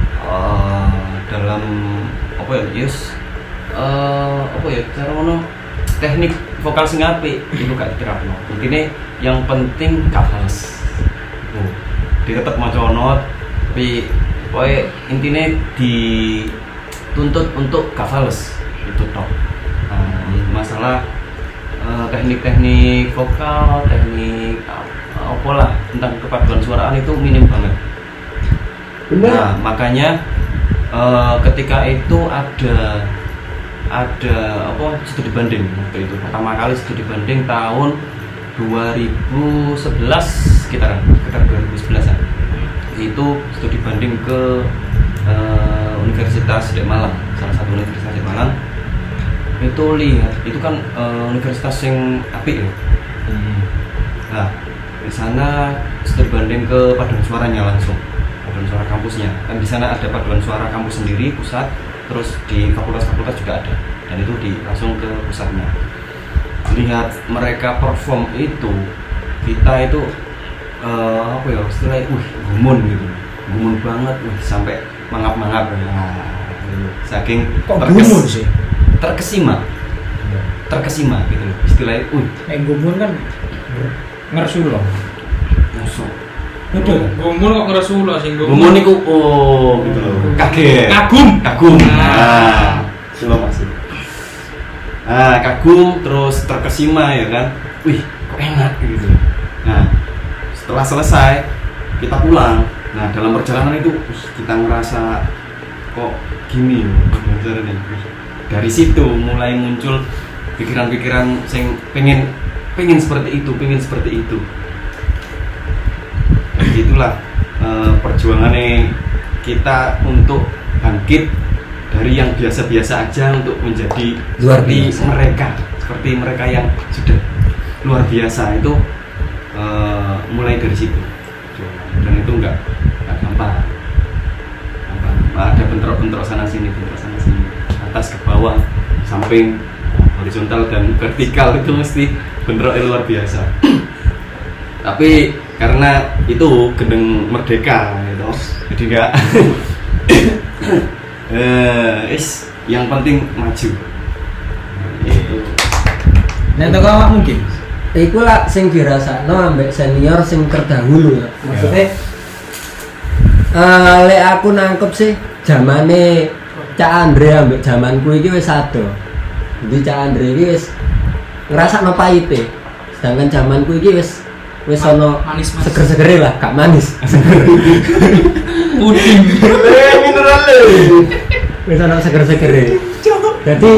dalam apa ya yes apa ya cara ngono teknik vokal sing apik itu gak diterapno intine yang penting gak fals tetep maca not, tapi pokoknya intinya dituntut untuk gak fales itu tok. Masalah teknik-teknik vokal, teknik apalah tentang kepaduan suaraan itu minim banget. Bener. Nah, makanya ketika itu ada apa studi banding waktu itu pertama kali studi banding tahun 2011 sekitar 2011an itu studi banding ke Universitas Malang, salah satu universitas di Malang. Itu lihat itu kan universitas yang apik ya. Nah di sana studi banding ke paduan suaranya langsung, paduan suara kampusnya. Kan di sana ada paduan suara kampus sendiri pusat, terus di fakultas-fakultas juga ada. Dan itu langsung ke pusatnya. Lihat mereka perform itu, kita itu apa ya istilahnya, gumun gitu, gumun banget, sampai mangap-mangap. Saking Kok gumun sih? terkesima gitu loh istilahnya. Gumun kan ngersu loh. Musuh. Betul. Gumun kok ngeresulo sing Gumun niku gitu loh. Kaget. Kagum. Nah, coba masuk. Nah, kagum terus terkesima ya kan. Wih, kok enak gitu. Nah, setelah selesai kita pulang. Nah, dalam perjalanan itu kita ngerasa kok gini pelajaran ini. Dari situ mulai muncul pikiran-pikiran yang pengen seperti itu. Dan itulah perjuangannya kita untuk bangkit dari yang biasa-biasa aja untuk menjadi Luar seperti mereka yang sudah luar biasa itu. Mulai dari situ, dan itu nggak gampang. Ada bentrok sana sini, atas ke bawah, samping, horizontal dan vertikal itu mesti bentroknya luar biasa. Tapi karena itu gendeng merdeka gitu, jadi enggak yang penting maju. Itu. Nah, itu awak mungkin. Iku lah sing dirasakno ambek senior sing terdahulu ya. Maksudnya lek aku nangkep sih zamane Cak Andre ambek zamanku iki wis ado. Jadi Cak Andre iki wis ngrasakno pahite. Sedangkan zamanku iki wis ono manis. seger-segere lah, gak manis. Puding. Mineral. Wis ono seger-segere. Jadi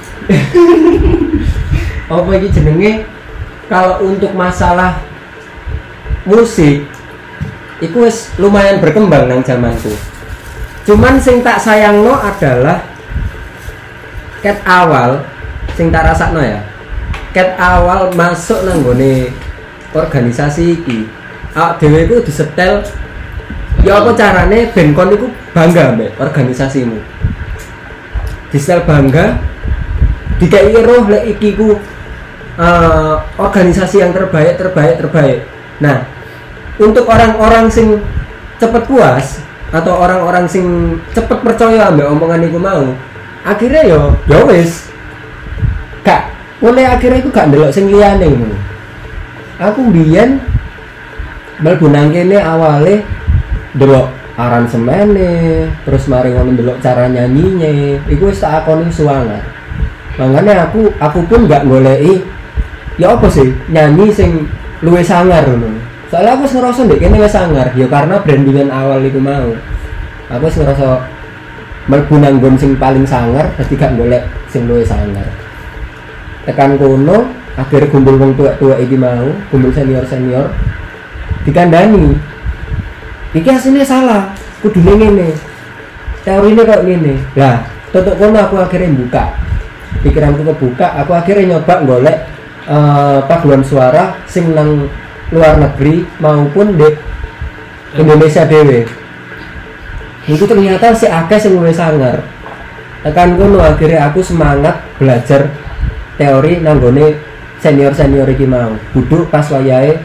apa iki jenenge? Kalau untuk masalah musik iku wis lumayan berkembang nang zamanku. Cuman sing tak sayangno adalah ket awal sing tak rasakno ya. Ket awal masuk nang gone organisasi iki. Awak dhewe iku disetel ya apa carane ben kon iku bangga mbek organisasimu. Disetel bangga dikai roh lek iki ku organisasi yang terbaik. Nah, untuk orang-orang sing cepet puas atau orang-orang sing cepet percaya ambek omongan iku mau, akhirnya ya wis gak mulai akhirnya iku gak ndelok sing liyane ngono. Aku mbiyen mlebu nang kene awale ndelok aransemene, terus mari ngono ndelok cara nyanyine, iku wis tak akoni suwangar. Makanya aku pun gak goleki ya apa sih nyanyi sing luwih sangar ngono. Soalnya aku ngerasa ndek kene wis sangar ya karena brandingan awal iku mau. Aku wis ngerasa mlebu nang nggon sing paling sangar dadi gak golek sing luwih sangar. Tekan kono akhirnya kumpul wong tua-tua iki mau, kumpul senior-senior dikandani. Iki asline salah, kudune ngene. Teorine kok ngene. Lah, tutuk kono aku akhirnya buka. Pikiranku kebuka, aku akhirnya nyoba golek paduan suara sing nang luar negeri maupun di Indonesia dhewe. Itu ternyata si akeh sing luwih sangar. Tekan kono akhirnya aku semangat belajar teori nanggone senior-senior iki mau. Kudu pas wayahe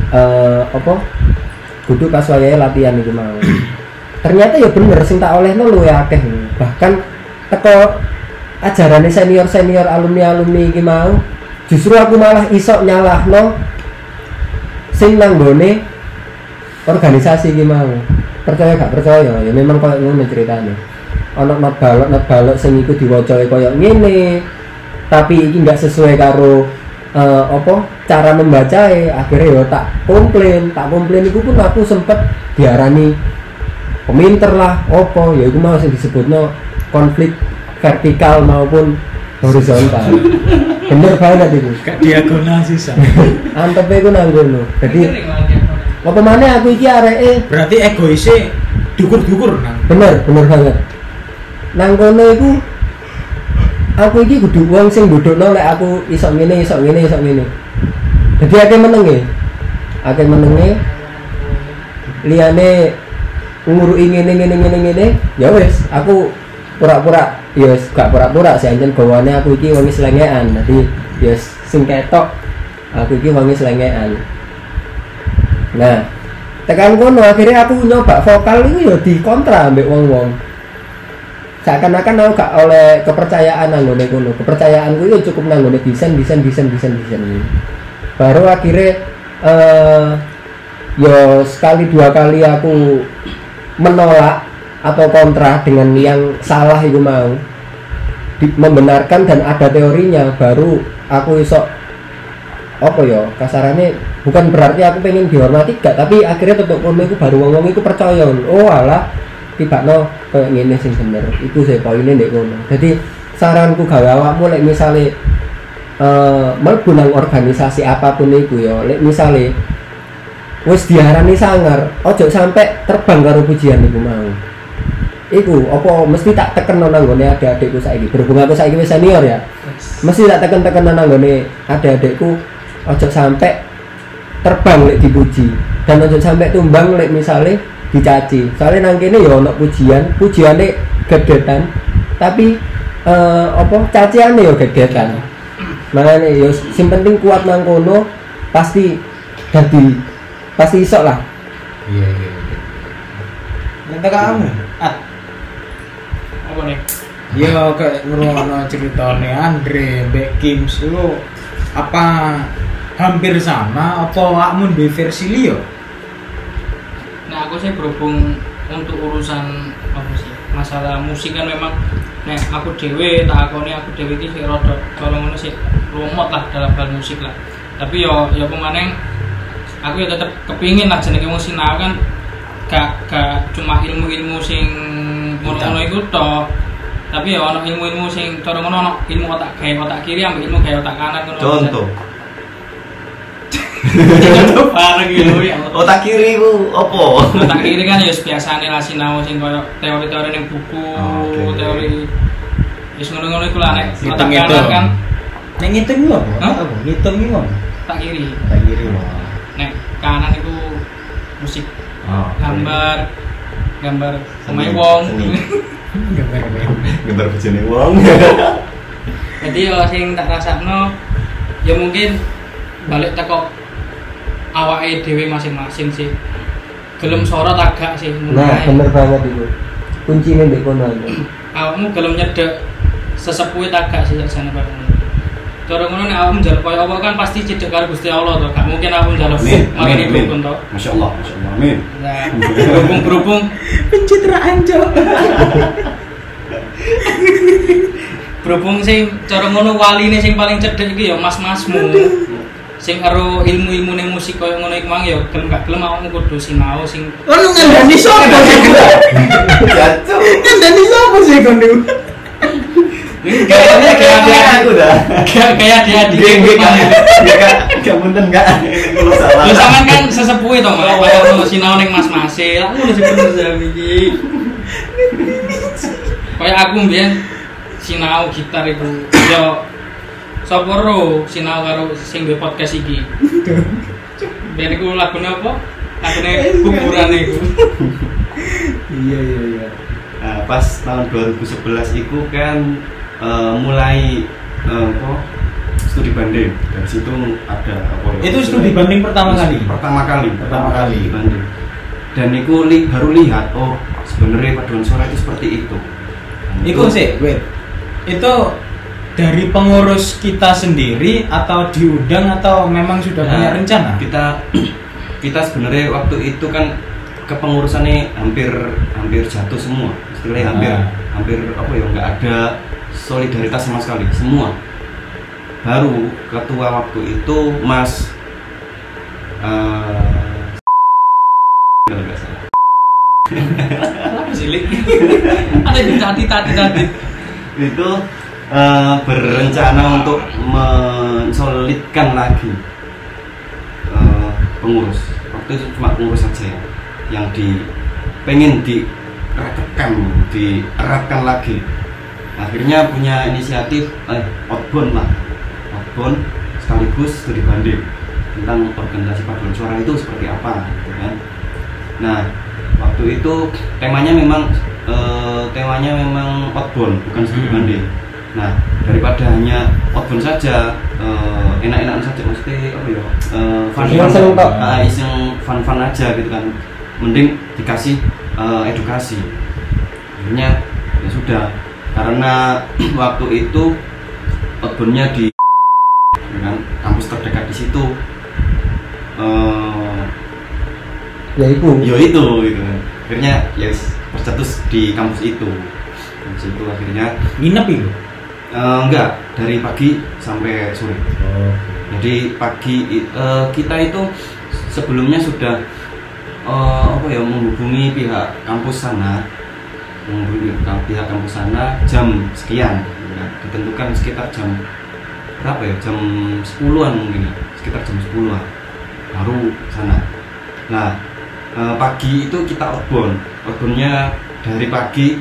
kudu pas wayahe latihan iki mau. Ternyata ya bener sing tak olehno luwih akeh. Bahkan teko ajarane senior-senior alumni-alumni iki mau justru aku malah isok nyalahno sing nanggone organisasi iki mau. Percaya gak percaya ya memang koyo ngono ceritane. Ana not balok sing iku diwaca koyo ngene. Tapi iki enggak sesuai karo cara membacae. Akhirnya ya tak komplain iku pun aku sempet diarani peminter lah ya iku mau sing disebutno konflik vertikal maupun horizontal. Bener banget itu. Gak diagonal sisa. Antepe iku nang ngono. Dadi apa maneh aku iki areke Berarti egoisnya dukur-dukur nang. bener banget. Nang kono iku aku iki kudu wong sing ndudukno lek aku iso ngene. Dadi akeh menenge. Liyane nguruki ngene ya wis aku pura-pura ya gak pura-pura sih anjen gawane aku iki wong slengean. Dadi ya sing ketok aku iki wong slengean. Nah, tekan kono akhirnya aku nyoba vokal itu ya dikontra ambek wong-wong. Seakan-akan aku gak oleh kepercayaan nanggone kono. Kepercayaanku itu cukup nanggone desain. Baru akhirnya ya sekali dua kali aku menolak atau kontra dengan yang salah itu mau membenarkan dan ada teorinya, baru aku iso kasarannya bukan berarti aku pengen dihormati gak, tapi akhirnya tetep kono iku baru wong-wong iku percaya alah tibakno koyo ngene sing bener. Iku sih poine ndek kono. Jadi saranku gawe awakmu lek misale mlebu nang organisasi apapun iku ya, lek misale wis diarani sangar, ojo sampai terbang karo pujian iku mau. Iku apa mesti tak tekeno nang gone adik-adikku saiki. Berhubung aku saiki wis senior ya. Mesti tak teken nang gone adik-adikku ojo sampai terbang lek dipuji dan ojo sampai tumbang lek misale dicaci. Soalnya nang kene ya ono pujiane gedetan, tapi caciane ya gedetan. Makane ya sing penting kuat nang kono pasti iso lah. Iya. Nanti kamu Apa nih? ya kayak ngrungokno ceritane Andre mbek Kim lu apa hampir sama apa awakmu duwe versi liya? Nah aku sih berhubung untuk urusan masalah musik kan memang aku dewe iki sih rada colong ngono sih lumot lah dalam hal musik lah. Tapi yo pemaneng aku ya tetep kepingin lah jenenge wong sinau kan gak cuma ilmu sing ngono-ngono iku tok. Tapi ya ono ilmu sing cara ngono ono ilmu otak kiri ambek ilmu gawe otak kanan ngono. Contoh. Contoh bareng gitu ya. Otak kiri ku opo? Otak kiri kan ya biasane lah sinau sing koyo teori-teori ning buku, teori wis ngono-ngono iku lah nek otak kanan kan nek ngitung lho, apa? Ngitung iki lho. otak kiri. Otak kiri lho. Nek kanan itu musik. Gambar pemain wong. Gambar bojone wong. Jadi ya sing tak rasakno ya mungkin balik teko awake dhewe masing-masing sih. Gelem sorot agak sih. Nah, bener banget itu. Kuncine ndek kono aja. Awakmu gelem nyedek sesepuhe agak sih sakjane bareng. Cara ngono nek awakmu njaluk koyo apa kan pasti cedek karo Gusti Allah to. Gak mungkin awakmu njaluk magane dukun to. Masyaallah. Amin. Nah, berhubung Pencitraan, Cok. berhubung sing cara ngono waline sing paling cedek iki ya mas-masmu. Sing karo ilmu-ilmune musik koyo ngono iku mang ya gelem gak gelem awakmu kudu sinau sing Ono ngandani sapa sih? Jatuh. Ngandani sapa sih kon niku? kayak aku dah. kayak dia di Gak punten enggak. Kalau salah. lu sampean kan sesepuh itu malah koyo sinau ning mas-mase lah ngono sing bener jam iki koyo aku mbiyen sinau gitar iku yo sapa ro sinau karo sing duwe podcast iki ben iku lagune apa lagune kuburan iku Iya. Nah, pas tahun 2011 itu kan mulai studi banding. Dari situ ada apa ya? Itu studi banding pertama kali. Pertama kali Studi banding. Dan itu baru lihat sebenarnya paduan suara itu seperti itu. Iku sih, wait. Itu dari pengurus kita sendiri atau diundang atau memang sudah punya rencana? Kita kita sebenarnya waktu itu kan kepengurusannya hampir jatuh semua, istilahnya hampir apa ya, nggak ada solidaritas sama sekali semua. Baru ketua waktu itu Mas kalau nggak salah. Apa sih Lik? Ada di tadi Itu berencana untuk mensolidkan lagi pengurus. Waktu itu cuma pengurus saja yang pengen dieratkan lagi. Akhirnya punya inisiatif outbound sekaligus studi banding tentang organisasi paduan suara itu seperti apa, gitu kan. Nah, waktu itu temanya memang outbound, bukan studi banding. Nah, daripada hanya outbound saja, enak-enakan saja, maksudnya apa ya, fun aja gitu kan, mending dikasih edukasi. Akhirnya ya sudah, karena waktu itu outboundnya di dengan kampus terdekat di situ, Ya itu gitu kan. Akhirnya ya berstatus di kampus itu akhirnya Nginep itu? Enggak, dari pagi sampai sore. Jadi pagi kita itu sebelumnya sudah menghubungi pihak kampus sana, jam sekian, ya, ditentukan sekitar jam berapa ya, jam 10-an mungkin ya, sekitar jam 10-an baru sana. Nah, pagi itu kita outboundnya dari pagi,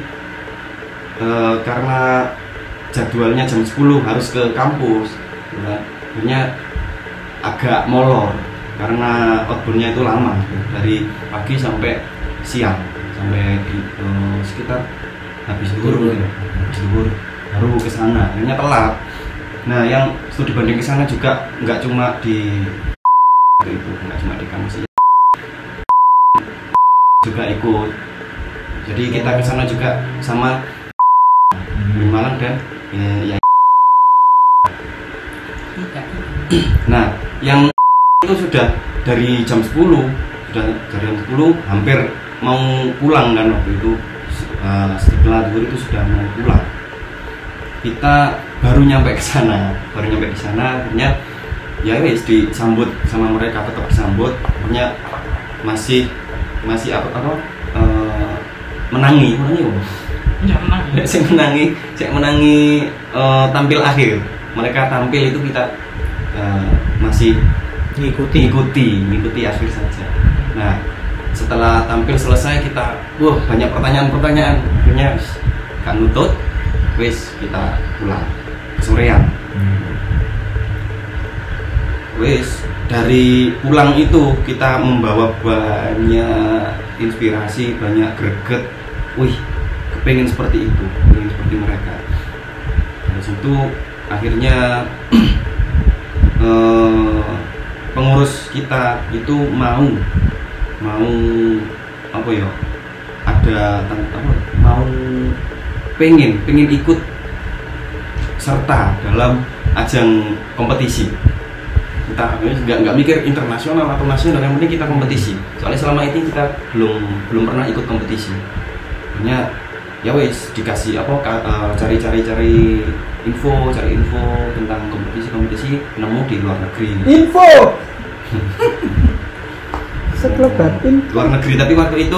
karena jadwalnya jam 10 harus ke kampus, ya. Akhirnya agak molor karena outboundnya itu lama, dari pagi sampai siang, sampai sekitar habis zuhur baru ke sana. Akhirnya telat. Nah, yang studi banding ke sana juga nggak cuma di kampus juga ikut. Jadi kita ke sana juga sama Malang dan ya. Nah, yang itu sudah dari jam 10, hampir mau pulang kan waktu itu, setelah zuhur itu sudah mau pulang. Kita baru nyampe ke sana, akhirnya ya wis disambut sama mereka, tetap disambut. Akhirnya masih menangi tampil akhir. Mereka tampil itu kita masih ngikuti akhir saja. Nah, setelah tampil selesai kita banyak pertanyaan, akhirnya gak nutut, wis kita pulang kesorean. Wis dari pulang itu kita membawa banyak inspirasi, banyak greget. Kepengen seperti itu, pengen seperti mereka. Dari situ akhirnya pengurus kita itu mau pengen ikut serta dalam ajang kompetisi. Kita nggak mikir internasional atau nasional, yang penting kita kompetisi. Soalnya selama ini kita belum pernah ikut kompetisi. Hanya ya wes dikasih cari info tentang kompetisi nemu di luar negeri. Info. Sekelebat info. Luar negeri, tapi waktu itu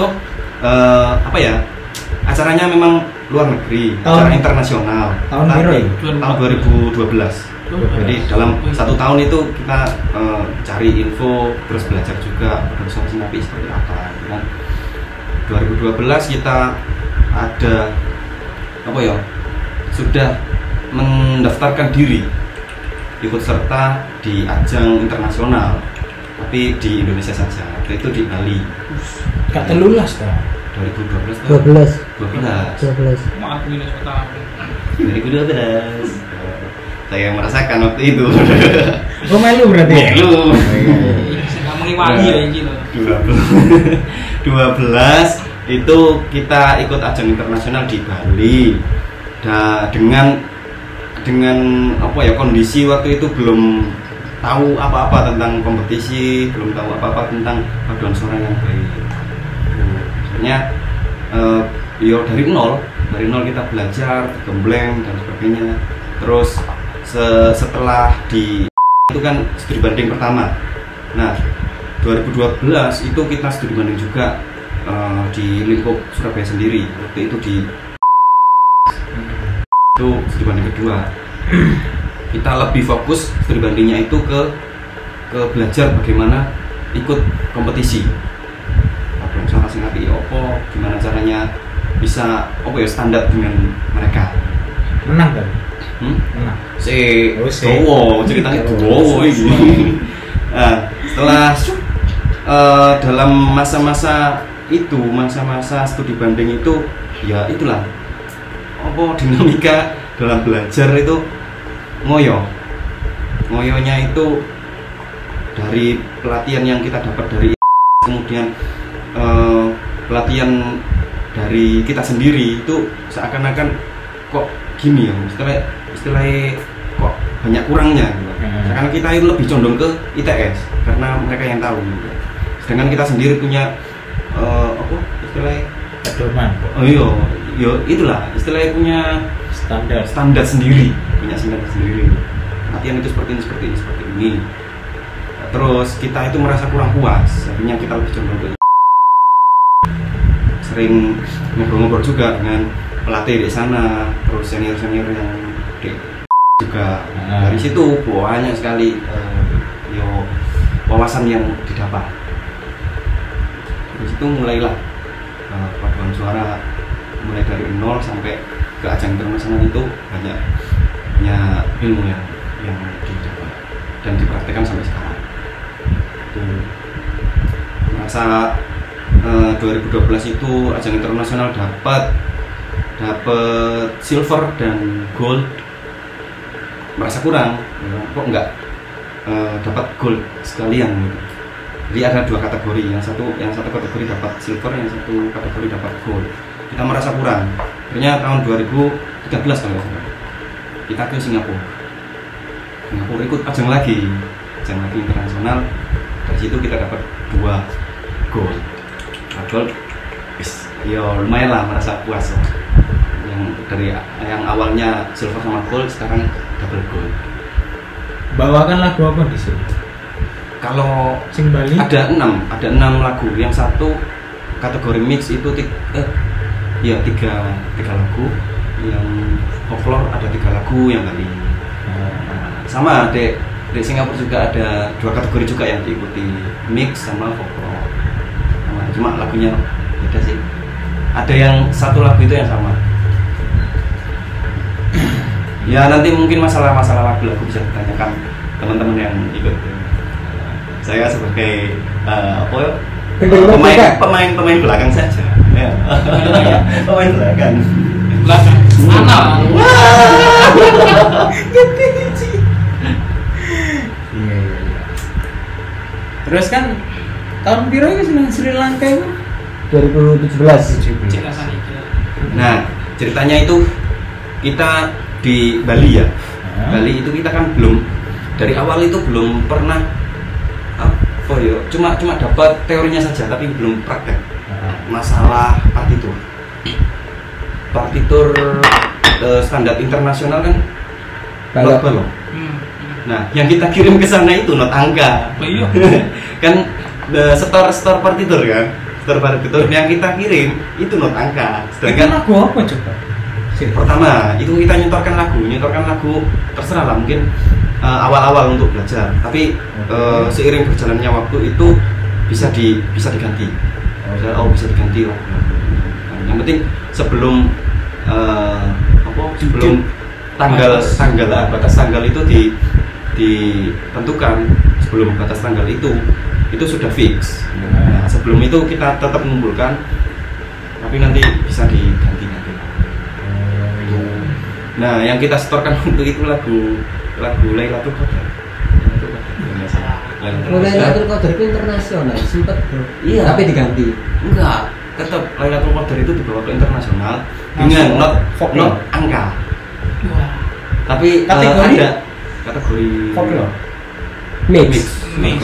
acaranya memang luar negeri, acara internasional. Tahun 2012. Jadi dalam 1 tahun itu kita cari info, terus belajar juga organisasi Napi seperti apa. Kan 2012 kita ada sudah mendaftarkan diri ikut serta di ajang internasional, tapi di Indonesia saja. Waktu itu di Bali. Gak telulas toh. 12. 2012. Mau aku minus utama. 2012. Saya merasakan waktu itu. Oh, melu berarti. Melu. Nggak mengiwangi ya ini loh. 12 itu kita ikut ajang internasional di Bali. Dengan kondisi waktu itu belum tahu apa-apa tentang kompetisi, belum tahu apa-apa tentang paduan suara yang baik. Sebenarnya dari nol kita belajar, gembleng dan sebagainya. Terus setelah itu kan studi banding pertama. Nah, 2012 itu kita studi banding juga di lingkup Surabaya sendiri. Waktu itu itu studi banding kedua. Kita lebih fokus studi bandingnya itu ke belajar bagaimana ikut kompetisi. Paduan suara sing apik opo, gimana caranya bisa standar dengan mereka. Menang kan? Menang. Ceritanya dowo ini. Nah, setelah dalam masa-masa studi banding itu ya itulah dinamika dalam belajar itu ngoyonya itu dari pelatihan yang kita dapat dari kemudian pelatihan dari kita sendiri itu seakan-akan kok gini ya istilahnya kok banyak kurangnya gitu. Karena kita itu lebih condong ke ITS karena mereka yang tahu gitu. Sedangkan kita sendiri punya istilahnya pedoman. Itulah istilahnya punya standar sendiri, punya standar sendiri. Latihan itu seperti ini. Terus kita itu merasa kurang puas, akhirnya kita lebih condong ke sering ngobrol-ngobrol juga dengan pelatih di sana, terus senior yang juga. Dari situ banyak sekali wawasan yang didapat. Dari situ mulailah paduan suara mulai dari nol sampai ke ajang internasional itu banyak ilmu yang didapat dan dipraktekkan sampai sekarang. Itu merasa 2012 itu ajang internasional dapat silver dan gold, merasa kurang, kok enggak dapat gold sekalian gitu. Jadi ada dua kategori, yang satu kategori dapat silver, yang satu kategori dapat gold. Kita merasa kurang. Akhirnya tahun 2013 kalau kita ke Singapura ikut ajang lagi internasional. Dari situ kita dapat 2 gold. Gold, ya lumayan lah, merasa puas lah. Yang awalnya silver sama gold, sekarang double gold. Bawakan lagu apa di sini? Kalau Sing Bali ada 6 lagu. Yang satu kategori mix itu 3 lagu. Yang folklore ada 3 lagu yang Bali. Sama di Singapura juga ada 2 kategori juga yang diikuti, mix sama folklore. Cuma lagunya beda sih. Ada yang satu lagu itu yang sama. Ya nanti mungkin masalah lagu-lagu bisa ditanyakan teman-teman yang ikut. Saya sebagai pemain belakang saja. Ya. Pemain belakang. Mana? Iya. Terus kan tahun biru itu Sri Lanka itu 2017. Nah, ceritanya itu kita di Bali ya. Bali itu kita kan belum dari awal itu belum pernah cuma dapat teorinya saja tapi belum praktek. Masalah partitur standar internasional kan not balok. Nah, yang kita kirim ke sana itu not angka. Kan store partitur kan. Store partitur yang kita kirim itu not angka. Sedangkan lagu apa coba? Pertama, itu kita nyetorkan lagu terserah lah, mungkin awal-awal untuk belajar. Tapi seiring berjalannya waktu itu bisa diganti. Bisa diganti lah. Yang penting sebelum batas tanggal itu ditentukan, sebelum batas tanggal itu sudah fix. Nah, sebelum itu kita tetap mengumpulkan, tapi nanti bisa diganti. Nah, yang kita setorkan untuk itu lagu Lailatul Qadar. Lailatul Qadar itu internasional, sempat bro. Iya. Tapi diganti. Enggak, tetap Lailatul Qadar itu dibawa ke internasional dengan not angka. Wah. Tapi Kategori? ada kategori folklore. Mix. Mix.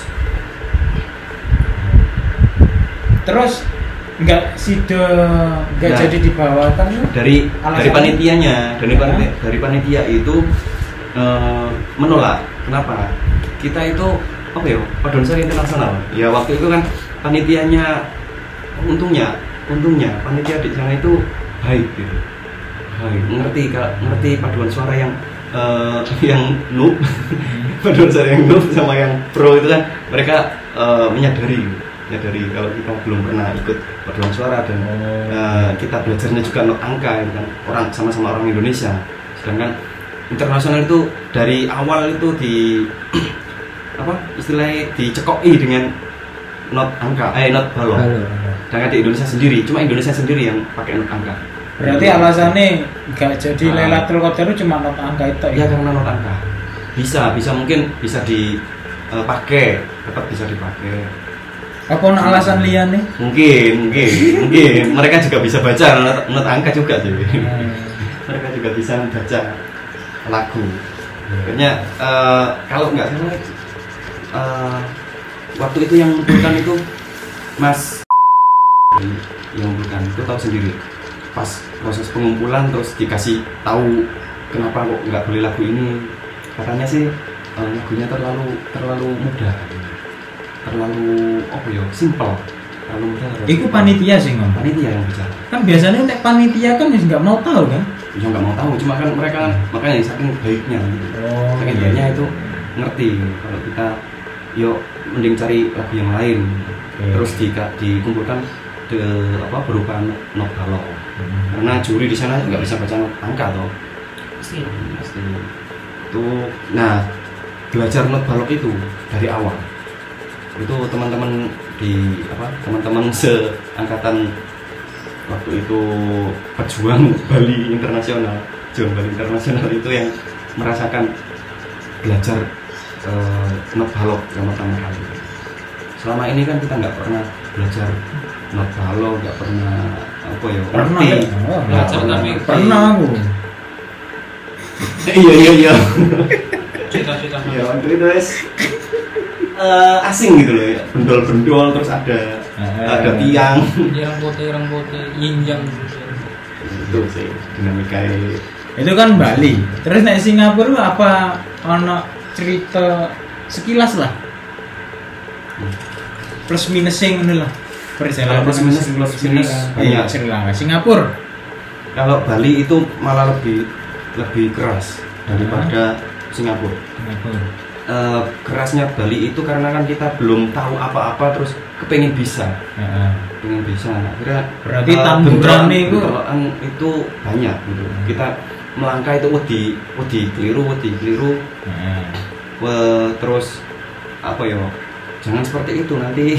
Terus nggak Nah, jadi dibawakan lu? dari Alasannya? panitianya, dari panitia itu menolak. Kenapa? Kita itu apa ya, paduan suara internasional. Ya waktu itu kan panitianya untungnya panitia di sana itu baik gitu. Baik, ngerti paduan suara yang noob, paduan suara yang noob sama yang pro itu kan mereka menyadari kalau kita belum pernah ikut paduan suara dan kita belajarnya juga not angka gitu kan, orang sama-sama orang Indonesia. Sedangkan internasional itu dari awal itu di apa istilahnya dicekoki dengan not angka, not balok. Sedangkan di Indonesia sendiri, cuma Indonesia sendiri yang pakai not angka. Berarti alasannya nggak jadi Lailatul Qadar cuma not angka itu Ya karena not angka. Bisa mungkin bisa dipakai, tetap bisa dipakai. apa ono alasan liane? Mungkin mereka juga bisa baca not angka juga sih. Mereka juga bisa membaca lagu. Kayaknya kalau nggak salah waktu itu yang mengumpulkan itu Mas yang mengumpulkan itu tahu sendiri. Pas proses pengumpulan terus dikasih tahu kenapa kok nggak boleh lagu ini, katanya sih lagunya terlalu mudah, terlalu apa ya, simple, terlalu mudah. Iku panitia sih ngomong. Panitia yang bicara. Kan biasanya untuk panitia kan nggak mau tahu kan? Ya nggak mau tahu, cuma kan mereka makanya saking baiknya gitu. Saking baiknya itu ngerti kalau kita yuk mending cari lagu yang lain. Terus dikumpulkan berupa not balok. Karena juri di sana nggak bisa baca angka toh. Pasti. Itu nah belajar not balok itu dari awal. Itu teman-teman teman-teman seangkatan waktu itu pejuang Bali internasional itu yang merasakan belajar not balok yang pertama kali. Selama ini kan kita nggak pernah belajar not balok, nggak pernah apa ya, Belajar tapi pernah aku. Iya. cerita-cerita. Ya waktu itu asing gitu loh ya, bendol terus ada tiang. Ireng putih, yinjang. Itu sih dinamika. Itu kan Bali. Terus naik Singapura apa ono cerita sekilas lah. Plus minusnya ngono lah. Perjalanan Plus minus iya Sri Lanka. Singapura. Kalau Bali itu malah lebih keras daripada Singapura. Kerasnya Bali itu karena kan kita belum tahu apa-apa terus kepengen bisa. Pengen bisa. Akhirnya Berarti tanduran itu banyak gitu. Kita melangkah itu wedi keliru. Terus apa ya? Jangan seperti itu nanti.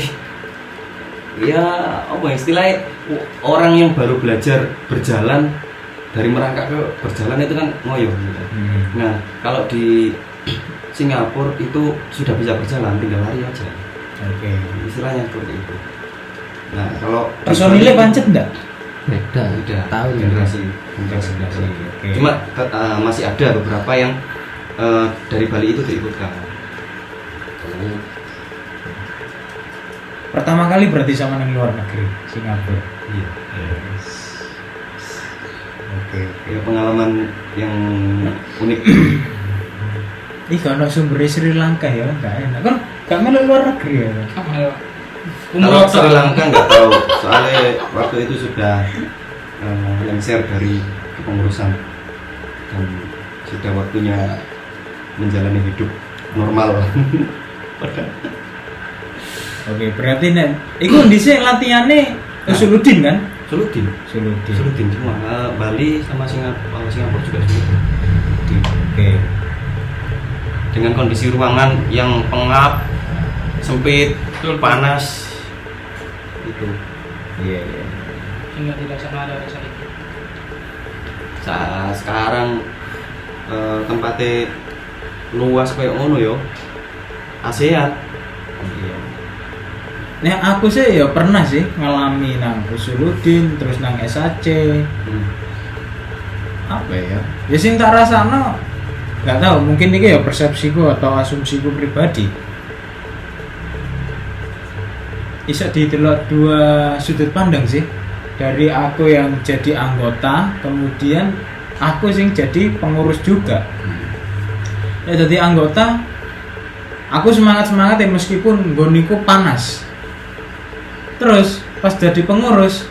Ya apa istilahnya, orang yang baru belajar berjalan dari merangkak ke berjalan itu kan ngoyo gitu. Nah kalau di Singapura itu sudah bisa berjalan, tinggal lari aja. Oke. Istilahnya seperti itu. Nah kalau personilnya pancet enggak? Beda. Tahu generasi. Oke. Cuma masih ada beberapa yang dari Bali itu diikutkan. Pertama kali berarti sama yang luar negeri, Singapura. Iya. Oke. Ya, pengalaman yang unik. Ih, kalau sumber Sri Lanka ya, enggak enak. Kan enggak melu luar negeri ya. Kalau Sri Lanka nggak tahu, soalnya waktu itu sudah lengser dari kepengurusan dan sudah waktunya menjalani hidup normal. Oke, berarti nek iku dhisik latihane Suludin kan? Suludin semua. Bali sama Singapura juga Suludin. Oke. Dengan kondisi ruangan yang pengap, sempit, panas itu. Iya. Hingga tidak sama ada rasa itu. Sekarang tempatnya luas kayak ngono yo. ASEAN. Iya. Nah, aku sih ya pernah sih ngalami nang Usuludin terus nang SAC. Apa ya? Ya sing tak rasano nggak tahu, mungkin ini ya persepsiku atau asumsiku pribadi. Bisa ditelok dua sudut pandang sih, dari aku yang jadi anggota, kemudian aku sing jadi pengurus juga. Ya jadi anggota, aku semangat ya meskipun goniku panas. Terus pas jadi pengurus,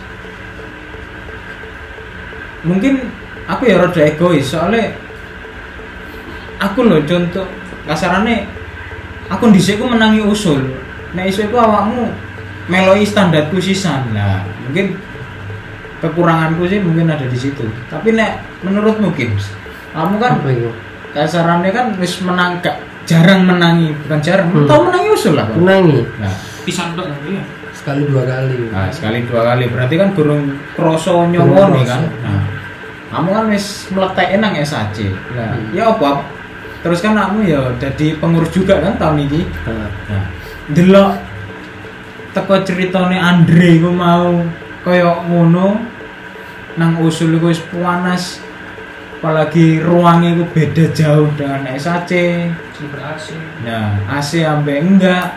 mungkin aku ya rada egois, soalnya aku loh contoh kasarannya, aku dhisik ku menangi usul, nek isu iku awakmu meloi standarku sisan. Nah mungkin kekuranganku sih mungkin ada di situ. Tapi nek menurutmu Kim, kamu kan kasarannya kan wis menang, jarang menangi, bukan jarang, tau menangi usul lah. Menangi. Nah, pisan tok ya. Sekali dua kali. Nah, sekali dua kali berarti kan gurung kroso nyowone kan. Nah, kamu kan wis meletek nang SAC. Nah, ya apa? Terus kan kamu ya jadi pengurus juga kan tahun ini. Nah, delok teko ceritane Andre ku mau koyo ngono nang usul iku wis panas. Apalagi ruangnya itu beda jauh dengan SAC. AC. Nah, AC ambek enggak.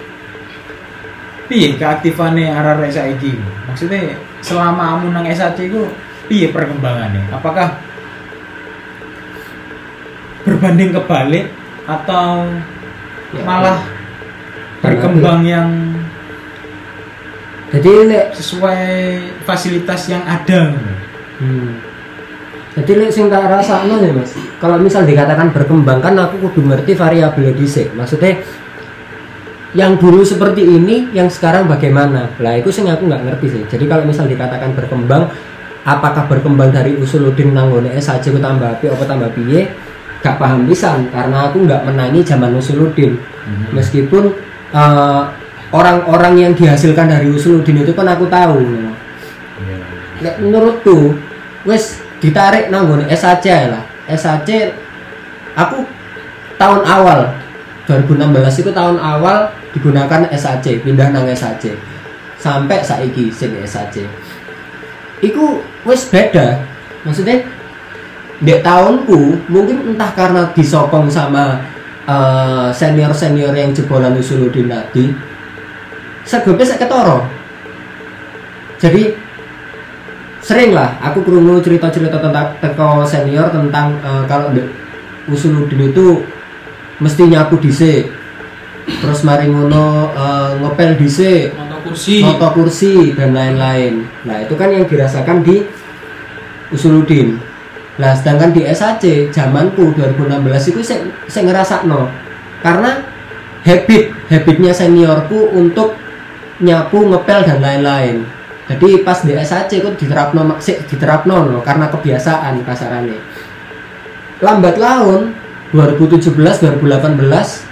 Piye keaktifannya arek saiki? Maksudnya selama kamu nang SAC itu piye perkembangannya? Apakah berbanding kebalik atau malah berkembang yang jadi sesuai fasilitas yang ada? Jadi sing tak rasakno ya Mas. Kalau misal dikatakan berkembang kan aku kudu ngerti variabel dhisik. Maksudnya yang dulu seperti ini, yang sekarang bagaimana? Lah itu sing aku nggak ngerti sih. Jadi kalau misal dikatakan berkembang, apakah berkembang dari Usuluddin nang ngone SAC ku tambah api apa tambah piye? Gak paham pisan karena aku nggak menangi zaman Usuluddin. Meskipun orang-orang yang dihasilkan dari Usuluddin itu kan aku tahu. Nek menurutku wes ditarik nang ngone SAC lah. SAC aku tahun awal 2016 itu tahun awal digunakan SAC, pindah nang SAC sampai saiki sing SAC iku wis beda. Maksudnya dek tahunku mungkin entah karena disokong sama senior-senior yang jebolan Usuluddin tadi segope sak ketoro. Jadi sering lah aku krungu cerita-cerita tentang teko senior tentang kalau Usuluddin itu mesti nyapu dhisik. Terus mari ngono ngepel dhisik, noto kursi dan lain-lain. Nah, itu kan yang dirasakan di Usuluddin. Nah, sedangkan di SAC zamanku 2016 itu saya ngerasakno. Karena habitnya seniorku untuk nyapu, ngepel dan lain-lain. Jadi pas di SAC itu diterapno karena kebiasaan kasarannya. Lambat laun 2017, 2018,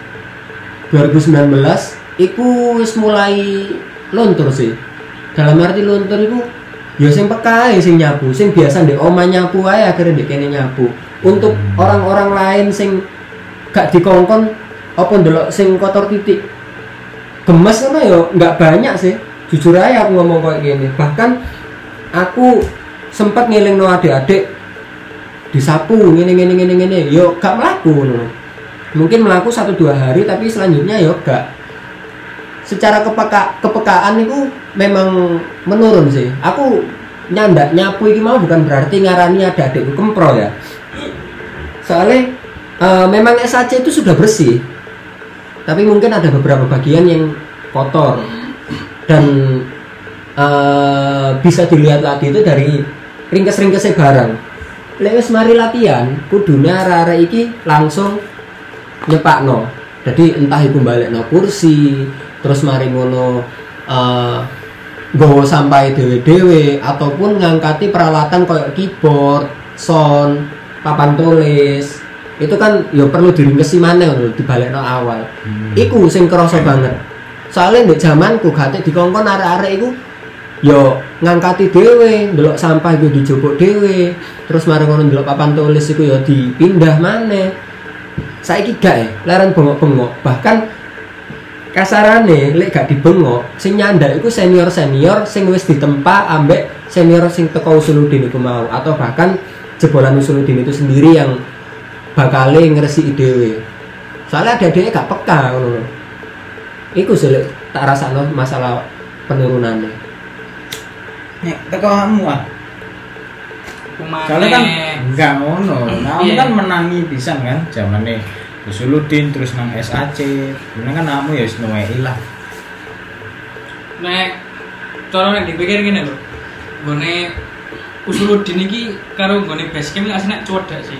2019 iku wis mulai luntur sih. Dalam arti luntur iku ya sing peka sing nyapu, sing biasa ndek omah nyapu ae akhirnya ndek kene nyapu. Untuk orang-orang lain sing gak dikongkon apa ndelok sing kotor titik gemes ngono ya enggak banyak sih. Jujur aja aku ngomong kayak gini. Bahkan aku sempat ngelingno adik-adik disapu ngene yo gak mlaku ngono. Mungkin melaku 1-2 hari tapi selanjutnya ya gak. Secara kepekaan itu memang menurun sih. Aku nyandak nyapu ini mau bukan berarti ngarani ada adikku kempro ya. Soalnya memang SAC itu sudah bersih. Tapi mungkin ada beberapa bagian yang kotor. Dan bisa dilihat lagi itu dari ringkes-ringkesnya barang. Lewis mari latihan, kudune arek-arek iki langsung nyepakno. Jadi entah iku balekno kursi, terus mari ngono nggawa sampai dhewe-dhewe ataupun ngangkati peralatan kayak keyboard, sound, papan tulis. Itu kan ya perlu diringkesi maneh lho dibalekno awal. Iku sing kerasa banget. Soalnya di zamanku gak dikongkon arek-arek iku yo ngangkati dhewe, ndelok sampah iku dijupuk dhewe. Terus mari ngono ndelok papan tulis iku yo dipindah maneh. Saiki gak leren bengok-bengok. Bahkan kasarane lek gak dibengok, sing nyandak iku senior-senior sing wis ditempa ambek senior sing teko Usuluddin iku mau atau bahkan jebolan Usuluddin itu sendiri yang bakale ngresiki dhewe. Soalnya adik-adiknya gak peka ngono lho. Iku sih lek tak rasakno masalah penurunannya. Nek teko kamu ah. Kumane. Soalnya kan enggak ngono. Nah, kamu Iya. kan menangi pisan kan zamane Usuluddin terus nang SAC. Bener kan kamu ya wis nuwei lah. Nek cara nek dipikir ngene lho. Nggone Usuluddin iki karo nggone basecamp iki asline cuwedhak sih.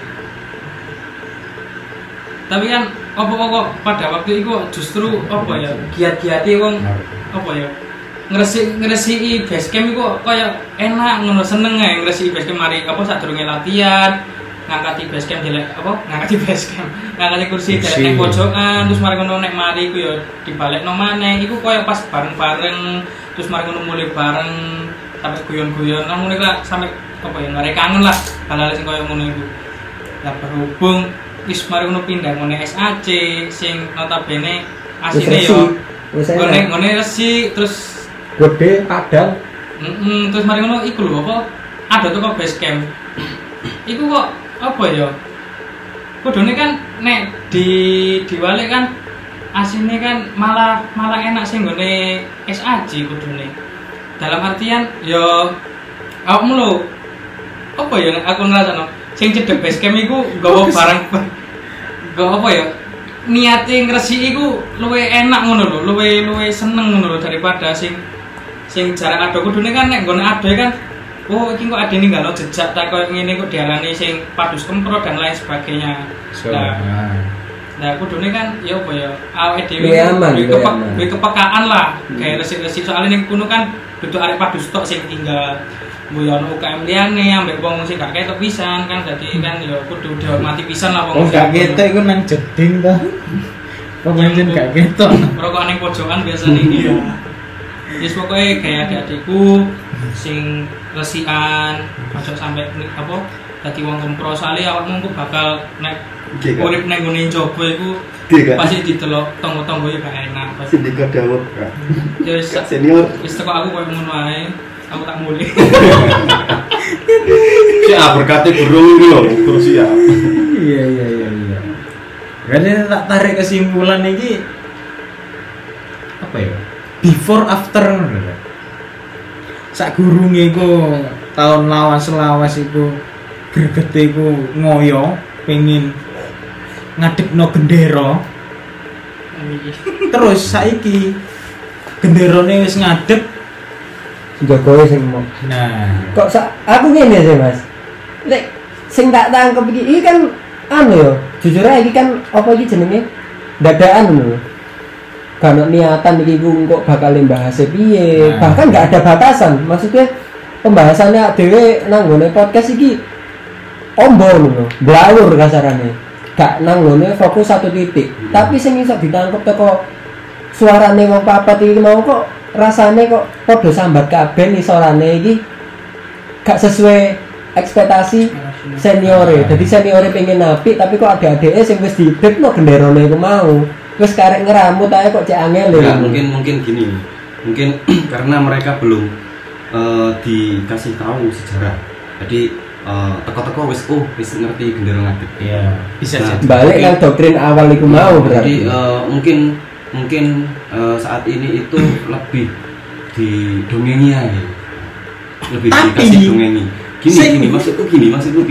Tapi kan apa kok pada waktu itu justru apa ya giat-giate wong apa ya ngresiki basecamp iku kaya enak ngono seneng ae ngresiki basecamp mari apa sadurunge latihan ngangkati basecamp jelek apa ngangkati basecamp ngangkati kursi jelek nek pojokan terus mari ngono nek mari iku ya dibalekno maneh iku kaya pas bareng-bareng terus mari ngono mulai bareng sampai guyon-guyon kan ngono lah sampai apa ya ngarep kangen lah hal-hal sing kaya ngono iku. Lah berhubung wis mari ngono pindah ngene SAC sing notabene asine yo ngene resi terus gede padang. Terus mari ngono iku lho apa ada toko base camp. Iku kok apa ya? Kudune kan nek diwalik kan asine kan malah enak sing nggone SAC kudune. Dalam artian yo awakmu lho apa ya nek aku ngrasakno sing cedhek base camp iku nggawa barang nggawa apa ya niate ngresiki iku luwih enak ngono lho luwih seneng ngono lho daripada sing jarak ado kudune kan nek nggone ado kan oh iki kok adene nggalo jejak ta koyo ngene kok diarani sing padus kempro dan lain sebagainya. Nah kudune kan ya apa ya awake dhewe duwe kepekaan lah kayak resik-resik soalnya ning kono kan duduk arek padus tok sing tinggal Buyon UKM liyane ambek wong sing gak ketok pisan kan dadi kan ya kudu dihormati pisan lah wong. Oh gak ketok iku nang jeding to. Kok pancen gak ketok. Rokok ning pojokan biasane iki ya. Wis pokoke kayak adik-adikku sing resikan ojo sampe apa dadi wong kempro soalé awakmu ku bakal nek urip ning ngene njaba iku pasti didelok tangga-tangga ya gak enak. Pasti dikodawuk. Ya wis Senior. Wis teko aku koyo ngono ae. Aku tak mulai. Ya berkati burung iki lho, terus ya. Iya. Berarti tak tarik kesimpulan iki apa ya? Before after ngono lho. Sak gurunge iku tahun lawas iku gregete iku ngoyo pengin ngadepno gendera. Terus saiki genderane wis ngadep Jokowi sing mau. nah, Kok aku ngene sih Mas. Lek sing tak tangkep iki kan anu yo, jujur aja iki kan apa iki jenenge? Dadaan ngono. Gak ono niatan iki ku kok bakal bahas piye. Nah. Bahkan gak ada batasan. Maksudnya pembahasannya dhewe nang ngene podcast iki ombo ngono, blawur kasarane. Gak nang ngene fokus satu titik. Tapi sing iso ditangkep teko suarane wong papat iki mau kok rasane kok padha sambat kabeh isorane iki gak sesuai ekspektasi seniore. Jadi seniore pengen apik tapi kok adik-adike sing wis didekno genderane iku mau. Wis karek ngeramut ae kok cek angel Ya, mungkin gini. Mungkin karena mereka belum dikasih tahu sejarah. Jadi teko-teko wis ngerti gendera ngadep. iya, bisa Nah, jadi. balik nang doktrin awal iku mau Jadi berarti. mungkin saat ini itu lebih didongengi aja. Lebih Tapi, dikasih dongengi. Gini, maksudku gini.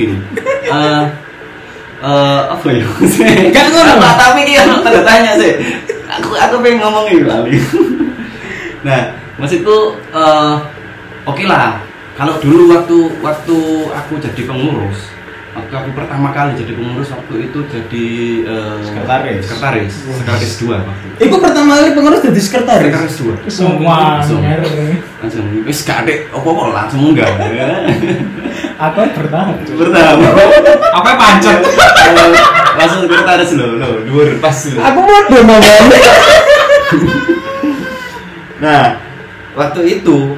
Apa ya? Kan ngono. Tapi dia tanda tanya sih. Aku pengen ngomong ini lali. Nah, maksudku oke lah. Kalau dulu waktu aku jadi pengurus, waktu aku pertama kali jadi pengurus waktu itu jadi sekretaris 2 waktu. Iku pertama kali pengurus jadi sekretaris. Sekretaris 2. Semua. Langsung wis gak adek apa-apa langsung munggah. Aku bertahan. Pertama. Apa pancet? Langsung sekretaris lho, dhuwur pas lho. Aku mau ngomong. Nah, waktu itu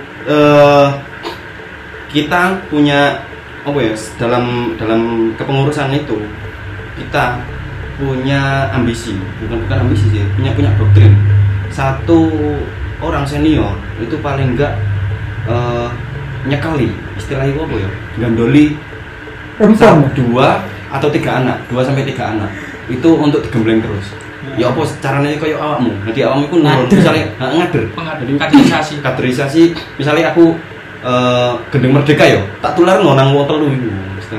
kita punya apa ya, dalam kepengurusan itu kita punya ambisi, bukan ambisi sih, punya doktrin. Satu orang senior itu paling enggak nyekali, istilahnya apa ya, gandoli Rempong. 2 atau 3 anak, 2 sampai 3 anak. Itu untuk digembleng terus. Ya apa caranya kayak awakmu. Jadi awakmu iku nurun misalnya ngader. Kaderisasi misalnya aku gendeng merdeka yo, tak tularno nang wong telu iku.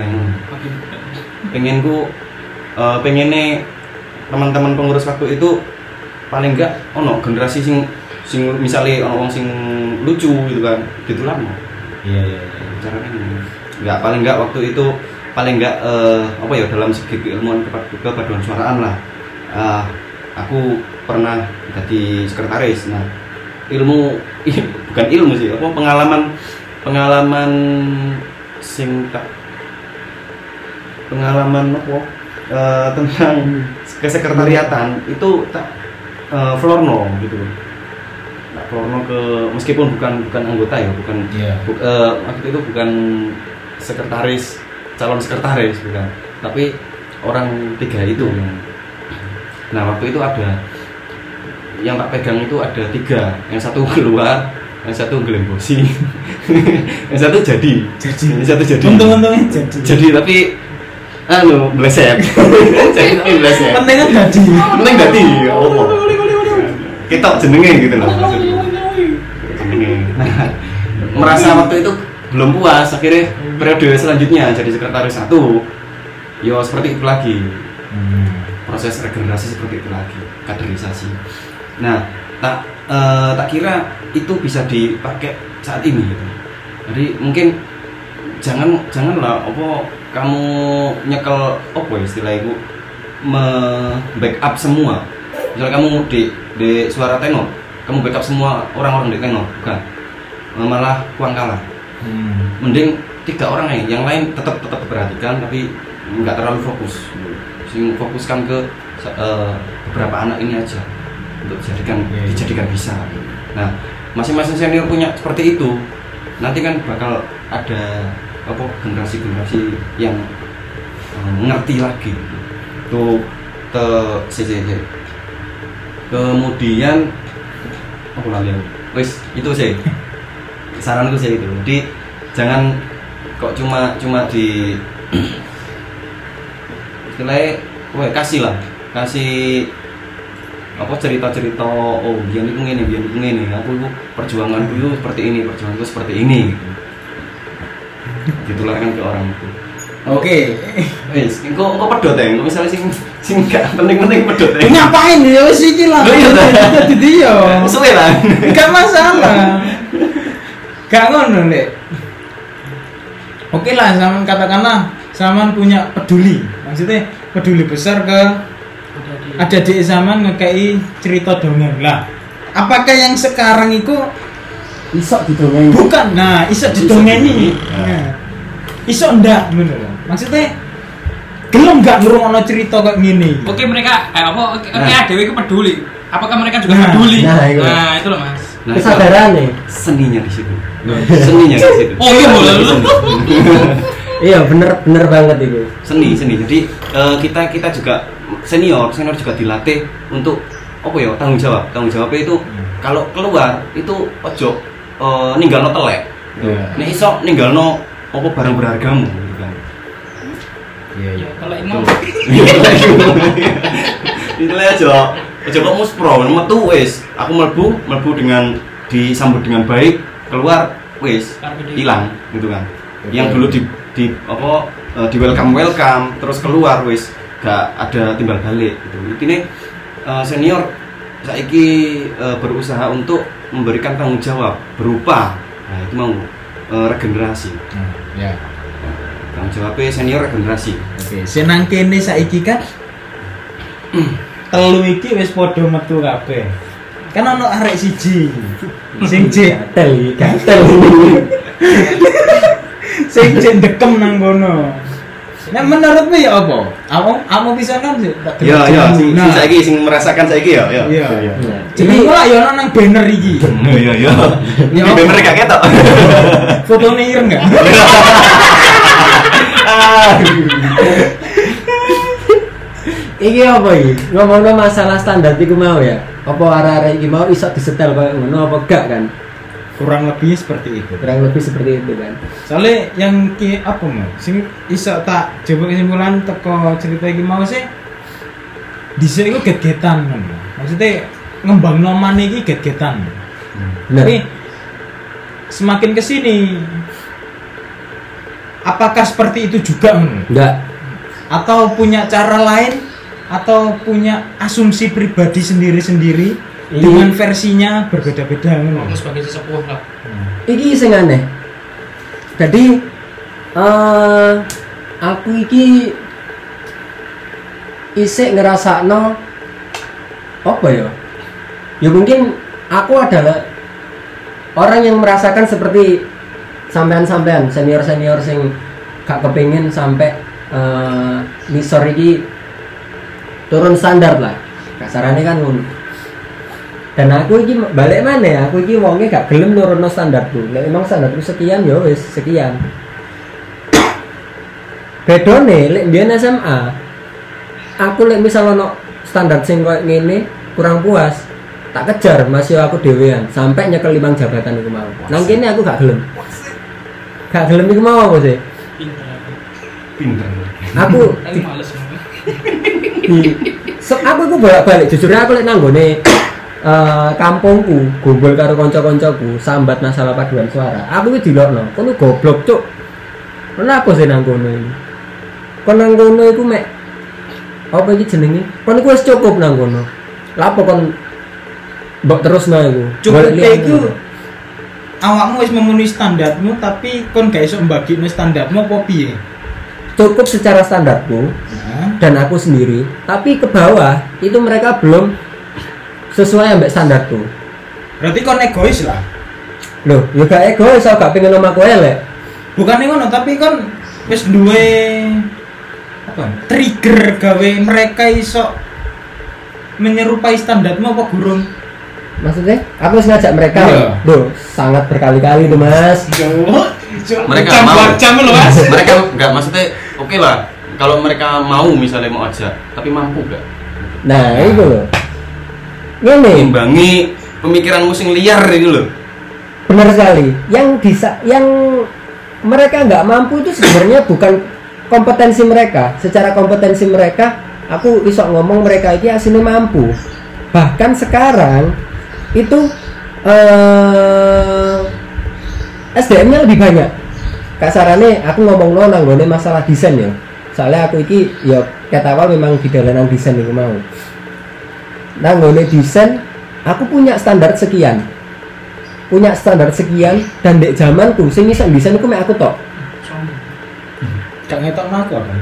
Pengenku pengene teman-teman pengurus waktu itu paling enggak ono generasi sing misalnya ono wong sing lucu gitu kan, ditularno. Iya. Caranya enggak paling enggak waktu itu paling enggak apa ya dalam segi keilmuan kepaduan suaraan lah. Aku pernah jadi sekretaris. Nah, bukan ilmu sih, apa pengalaman tentang kesekretariatan itu tak florno gitu. Tak florno ke meskipun bukan anggota ya, waktu itu bukan sekretaris, calon sekretaris bukan, tapi orang 3 itu. Nah waktu itu ada yang tak pegang itu ada 3, yang satu keluar, yang satu ngelembosi, yang satu jadi. Untung-untungnya jadi tapi meleset. Jadi tapi meleset. Penting jadi. Oh. Kita jenenge gitu loh. Jenenge. Nah, merasa waktu itu belum puas, akhirnya periode selanjutnya jadi sekretaris 1. Yo seperti itu lagi. Proses regenerasi seperti itu lagi, kaderisasi. Nah, tak kira itu bisa dipakai saat ini gitu. Jadi mungkin janganlah kamu nyekel istilah itu backup semua. Misalnya kamu di suara tenor, kamu backup semua orang-orang di tenor, bukan. Malah kurang kalah. Mending 3 orang yang lain tetap diperhatikan tapi nggak terlalu fokus. Fokuskan ke beberapa anak ini aja untuk dijadikan bisa. Nah, masing-masing senior punya seperti itu. Nanti kan bakal ada generasi-generasi yang ngerti lagi. Tuh kemudian aku lali. Wes itu sih saranku sih itu. Jadi jangan kok cuma di istilahnya kasih cerita-cerita biar itu ngene aku perjuanganku itu seperti ini gitu. Ditularkan ke orang itu. Oke. Wes, kok pedot ya? Misalnya sing gak penting-penting pedot ya. Ngapain ya wis iki lah. Dadi dia. Suwe lah. Enggak masalah. Gak ngono, Ndek. Oke lah, zaman katakanlah zaman punya peduli. Maksudnya peduli besar ke ada di zaman ngekei cerita dongeng lah. Apakah yang sekarang itu iso didongeng? Bukan. Nah, iso didongengi. Nah. Iso ndak bener. Maksudnya gelem enggak ngrungokno cerita kayak gini. Oke, mereka dhewe iku peduli. Apakah mereka juga peduli? Nah, itu loh, Mas. Kesadaran nih. Seninya di situ. Seninya di situ. Oh iya boleh. Iya bener banget itu. Seni. Jadi kita juga senior juga dilatih untuk tanggung jawab. Tanggung jawabnya itu kalau keluar itu ojo ninggalno telek. Nek iso ninggalno barang berhargamu gitu kan. Iya. Telek mau. Intinya aja kok muspro metu wis. Aku mlebu dengan disambut dengan baik, keluar wis hilang gitu kan. Yang dulu di welcome terus keluar wis gak ada timbal balik gitu. Intinya senior saiki berusaha untuk memberikan tanggung jawab berupa itu mau regenerasi. Ya. Tanggung jawabnya senior regenerasi. Oke, senang kene saiki kan telu iki wis padha metu kabeh. Kan ono arek siji sing gatel. Sing dekem nang kono. Nah menurutmu ya apa? Kamu bisa kan sih? Ya, saiki sing merasakan saiki ya. Iya. Jenenge lah ya ono nang banner iki. Iya. Di banner gak ketok. Fotone ireng enggak? Iki apa iki? Ngomongno masalah standar iku mau ya. Apa arek-arek iki mau iso disetel koyo ngono apa gak kan? kurang lebih seperti itu. kurang lebih seperti itu kan. Soalnya yang apa mau sing iso tak coba kesimpulan teko cerita iki mau sih dhisik iku get-getan kan. Maksudnya ngembangno maneh iki get-getan. Nah, Tapi semakin kesini apakah seperti itu juga enggak. atau punya cara lain atau punya asumsi pribadi sendiri-sendiri dengan versinya berbeda-beda Aku sebagai sesepuh lah. Iki sing aneh. Jadi aku iki isik ngerasakno apa ya? Ya mungkin aku adalah orang yang merasakan seperti sampean-sampean senior-senior sing gak kepengin sampai nisor iki turun standar lah. Kasarannya kan ngono. Dan aku iki balik mana ya? Aku iki wonge gak gelem nurunno standarku. Nek emang standarku sekian ya wis sekian. Bedone lek mbiyen SMA, aku lek misal ono standar sing koyo ngene kurang puas, tak kejar masih aku dhewean sampai nyekel 5 jabatan iku mau. Nang kene aku gak gelem. Gak gelem iku mau apa sih? Pinter. Aku Tapi males. aku iku bolak-balik jujur aku lek nang nggone kampungku gombol karo kanca-kancaku sambat masalah paduan suara. Aku iki dilokno. Kono goblok, Cuk. Kenapa sih nang kono iki? Kon nang kono iku mek apa iki jenenge? Kon iku wis cukup nang kono. Lha apa kon mbok terusno iku? Cukup Golek liyane. iku awakmu wis memenuhi standarmu tapi kon gak iso mbagine standarmu apa piye? Cukup secara standarku Nah, dan aku sendiri, tapi ke bawah itu mereka belum sesuai ambek standarku. berarti kon egois lah. Loh, ya gak egois, aku gak pengen omahku elek. Bukan ngono, tapi kon wis duwe apa? Trigger gawe mereka iso menyerupai standarmu apa gurung? Maksudnya, aku harus ngajak mereka. Iya. Loh, sangat berkali-kali tuh mas. Mereka jam lo Mas. Mereka nggak maksudnya oke lah kalau mereka mau misalnya mau ajak tapi mampu gak Nah, itu loh. Ini imbangi pemikiranmu sing liar ini loh. benar sekali. Yang mereka nggak mampu itu sebenarnya bukan kompetensi mereka. Secara kompetensi mereka, aku iso ngomong mereka ini aslinya mampu. Bahkan sekarang itu SDM-nya lebih banyak. Kasarannya aku ngomong nang nggone masalah desain ya. Soalnya aku iki ya kata awal memang di dalanan desain iku mau. Nang nggone desain aku punya standar sekian. Dan dek zamanku sing iso desain iku mek aku tok. Gak ngetok aku apa?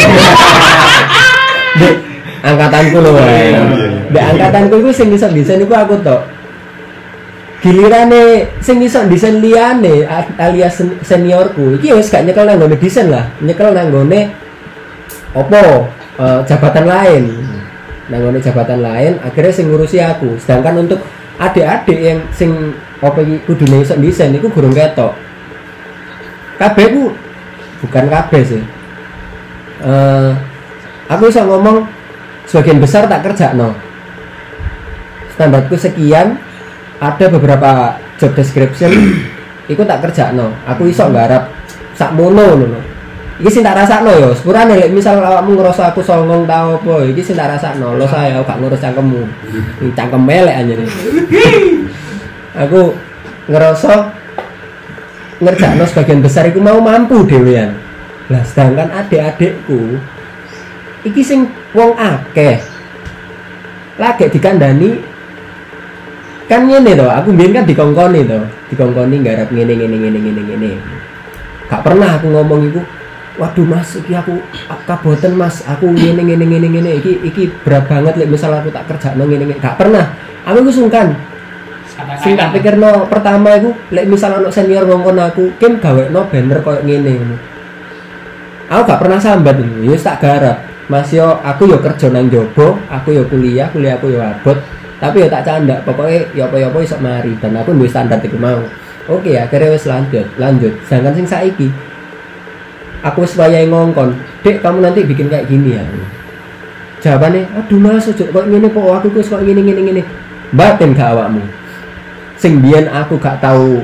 Dek angkatanku loh. Dek angkatanku iku sing iso desain iku aku tok. Gilirane sing iso desain liyane alias seniorku iki wis gak nyekel nang nggone desain lah, nyekel nang nggone opo jabatan lain. Nang nggone jabatan lain akhirnya sing ngurusi aku. Sedangkan untuk adik-adik yang sing opo iki kudune iso desain iku gurung ketok. Kabeh ku bukan kabeh sih. Aku iso ngomong sebagian besar tak kerjakno. Standarku sekian, ada beberapa job description iku tak kerjakno. Aku iso nggarap sak mono ngono. Iki sing tak rasakno ya, sepurane lek misal awakmu ngerasa aku songong ta apa, iki sing tak rasakno. Lo saya aku gak ngurus cangkemmu. Cangkem elek anjene. Aku ngerasa ngerjakno sebagian besar iku mau mampu dhewean. Lah sedangkan adik-adikku iki sing wong akeh. Lagi dikandani kan ngene to, aku mbiyen kan dikongkoni nggarap ngene. Gak pernah aku ngomong iku, waduh Mas, iki aku kaboten Mas, aku ngene iki berat banget lek misal aku tak kerjakno ngene. Gak pernah. Aku iku sungkan. Sing tak pikirno pertama iku lek misal ana senior ngongkon aku, "Kim gawekno banner koyo ngene." Aku gak pernah sambat iki, wis tak garap. Mas yo aku yo kerja nang jobo, aku yo kuliahku yo abot. Tapi ya tak candak, pokoknya ya apa-apa iso mari dan aku duwe standar iku mau. Oke, akhirnya wis lanjut. Sedangkan sing saiki aku wis wayahe ngongkon, "Dek, kamu nanti bikin kayak gini ya." Jawabannya, "Aduh Mas, ojo kok ngene po, aku wis kok ngene. Batin gak awakmu." sing biyen aku gak tahu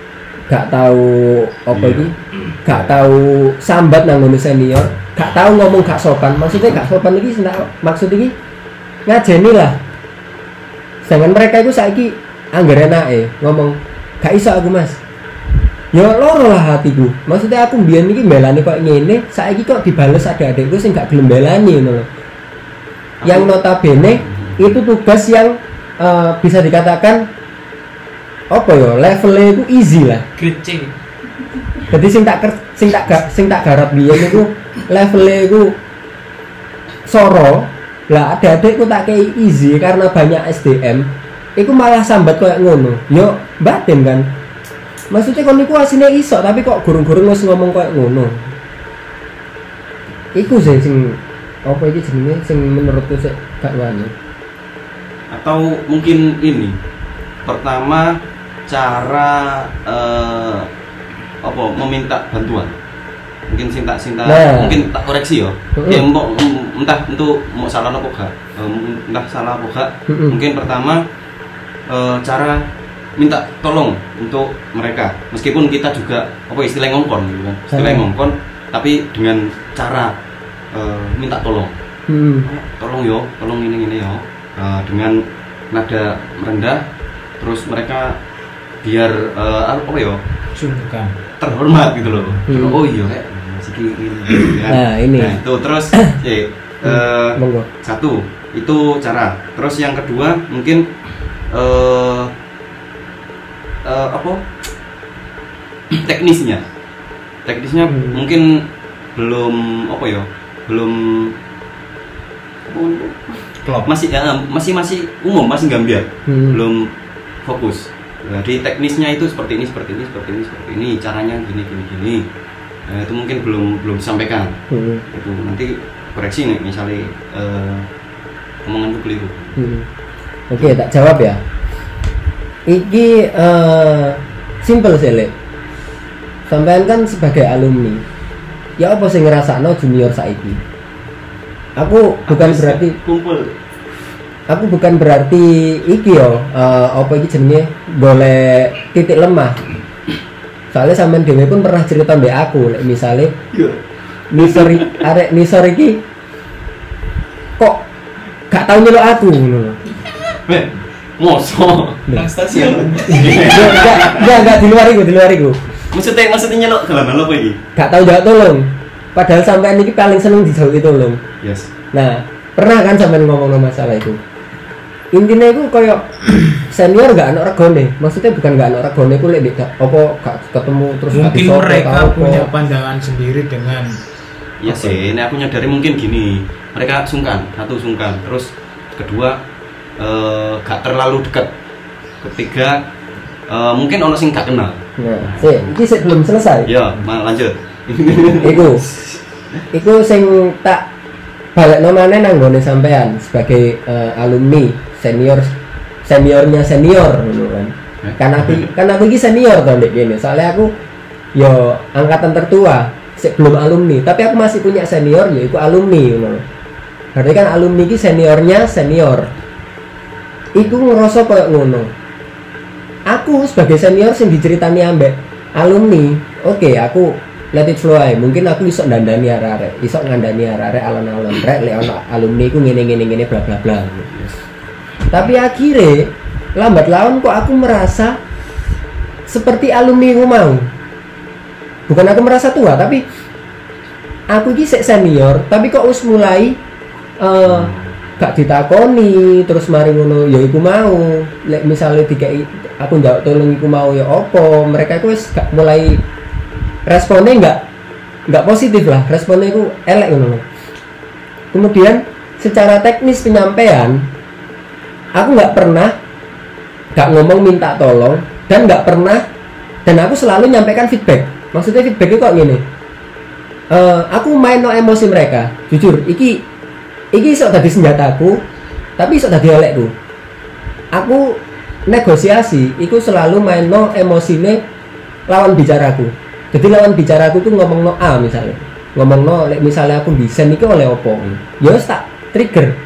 apa iki, gak tahu sambat nang ngene senior, gak tahu ngomong gak sopan. Maksudnya gak sopan iki maksud iki ngajeni lah. Sedangkan mereka itu saiki anggar enake ngomong gak iso aku Mas. Ya loro lah hatiku. Maksudnya aku mbiyen iki mbelani kok ngene, saiki kok dibales adik-adikku sing gak gelem mbelani ngono lho. Yang notabene itu tugas yang bisa dikatakan apa ya, levelnya itu easy lah. Grade C. Jadi sing tak garap biyen iku levelnya iku soro. Lah adik-adikku tak kei easy karena banyak SDM. Iku malah sambat koyo ngono. Yo batin kan. Maksudnya kon niku asine iso tapi kok gurung-gurung wis ngomong koyo ngono. Iku sing apa iki jenenge sing menurutku sik gak wani. Atau mungkin ini pertama cara apa meminta bantuan. Mungkin sinta nah, mungkin tak koreksi ya. Ya entah untuk mau salah apa gak. Entah salah apa gak. Mungkin pertama cara minta tolong untuk mereka, meskipun kita juga apa istilah ngongkon gitu kan, istilah ngongkon tapi dengan cara minta tolong. Tolong yo, tolong ini yo, dengan nada merendah, terus mereka biar apa yo, sungkan terhormat gitu loh. Oh iya kayak masih ini kan. Nah ini Nah itu terus satu itu cara. Terus yang kedua mungkin apa teknisnya mungkin belum apa ya, belum klop, masih umum, masih gambiar, belum fokus. Jadi teknisnya itu seperti ini caranya gini. Nah, itu mungkin belum disampaikan. Itu nanti koreksi nih misalnya omonganku keliru. Oke, tak jawab ya. Iki simple sih Lek. Sampean kan sebagai alumni, ya apa sih ngerasakno junior saiki? Aku bukan berarti iki yo apa iki jenenge boleh titik lemah. Soalnya sampean dhewe pun pernah cerita mbek aku, lek misale nisor iki kok gak tau nyeluk aku ngono lho. Mosok Nang stasiun. Enggak di luar iku. Maksudnya nyeluk dalam apa iki? Gak tau jawab tolong. Padahal sampean iki paling seneng dijauhi tolong. Yes. Nah, pernah kan sampean ngomong masalah itu. Intinya itu koyo senior gak ana regone. Maksudnya bukan gak ana regone ku lek apa gak ketemu terus mungkin mereka punya pandangan sendiri dengan iya sih, ini aku nyadari mungkin gini, mereka sungkan, terus kedua gak terlalu dekat, ketiga mungkin ono sing gak kenal. Nah, ini belum selesai. Ya, lanjut. Iku sing tak balekno maneh nang nggone sampean sebagai alumni seniornya senior ngono kan. Kan aku iki senior to ndek kene. Soalnya aku yo angkatan tertua, sik belum alumni, tapi aku masih punya senior yaitu alumni ngono. Berarti kan alumni iki seniornya senior. Iku ngerasa koyo ngono. Aku sebagai senior sing diceritani ambek alumni, oke, aku let it flow ae. Mungkin aku iso ndandani arek-arek, iso ngandani arek-arek alon-alon rek lek ono alumni ku ngene bla bla bla. Tapi akhirnya lambat laun kok aku merasa seperti alumni ku mau. Bukan aku merasa tua, tapi aku iki sik senior, tapi kok wis mulai gak ditakoni terus mari ngono ya iku mau. Lek misale dikei aku njawab tolong iku mau ya opo, mereka itu wis gak mulai responnya enggak positif lah, responnya itu elek ngono. Kemudian secara teknis penyampaian aku nggak pernah ngomong minta tolong dan nggak pernah, dan aku selalu nyampaikan feedback. Maksudnya feedback itu kok gini, aku main no emosi mereka, jujur iki iso dadi senjataku tapi iso dadi elekku. Aku negosiasi iku selalu main no emosine lawan bicaraku. Jadi lawan bicaraku tuh ngomong no A misalnya, ngomong no misalnya aku desain iki oleh opo, ya wis tak trigger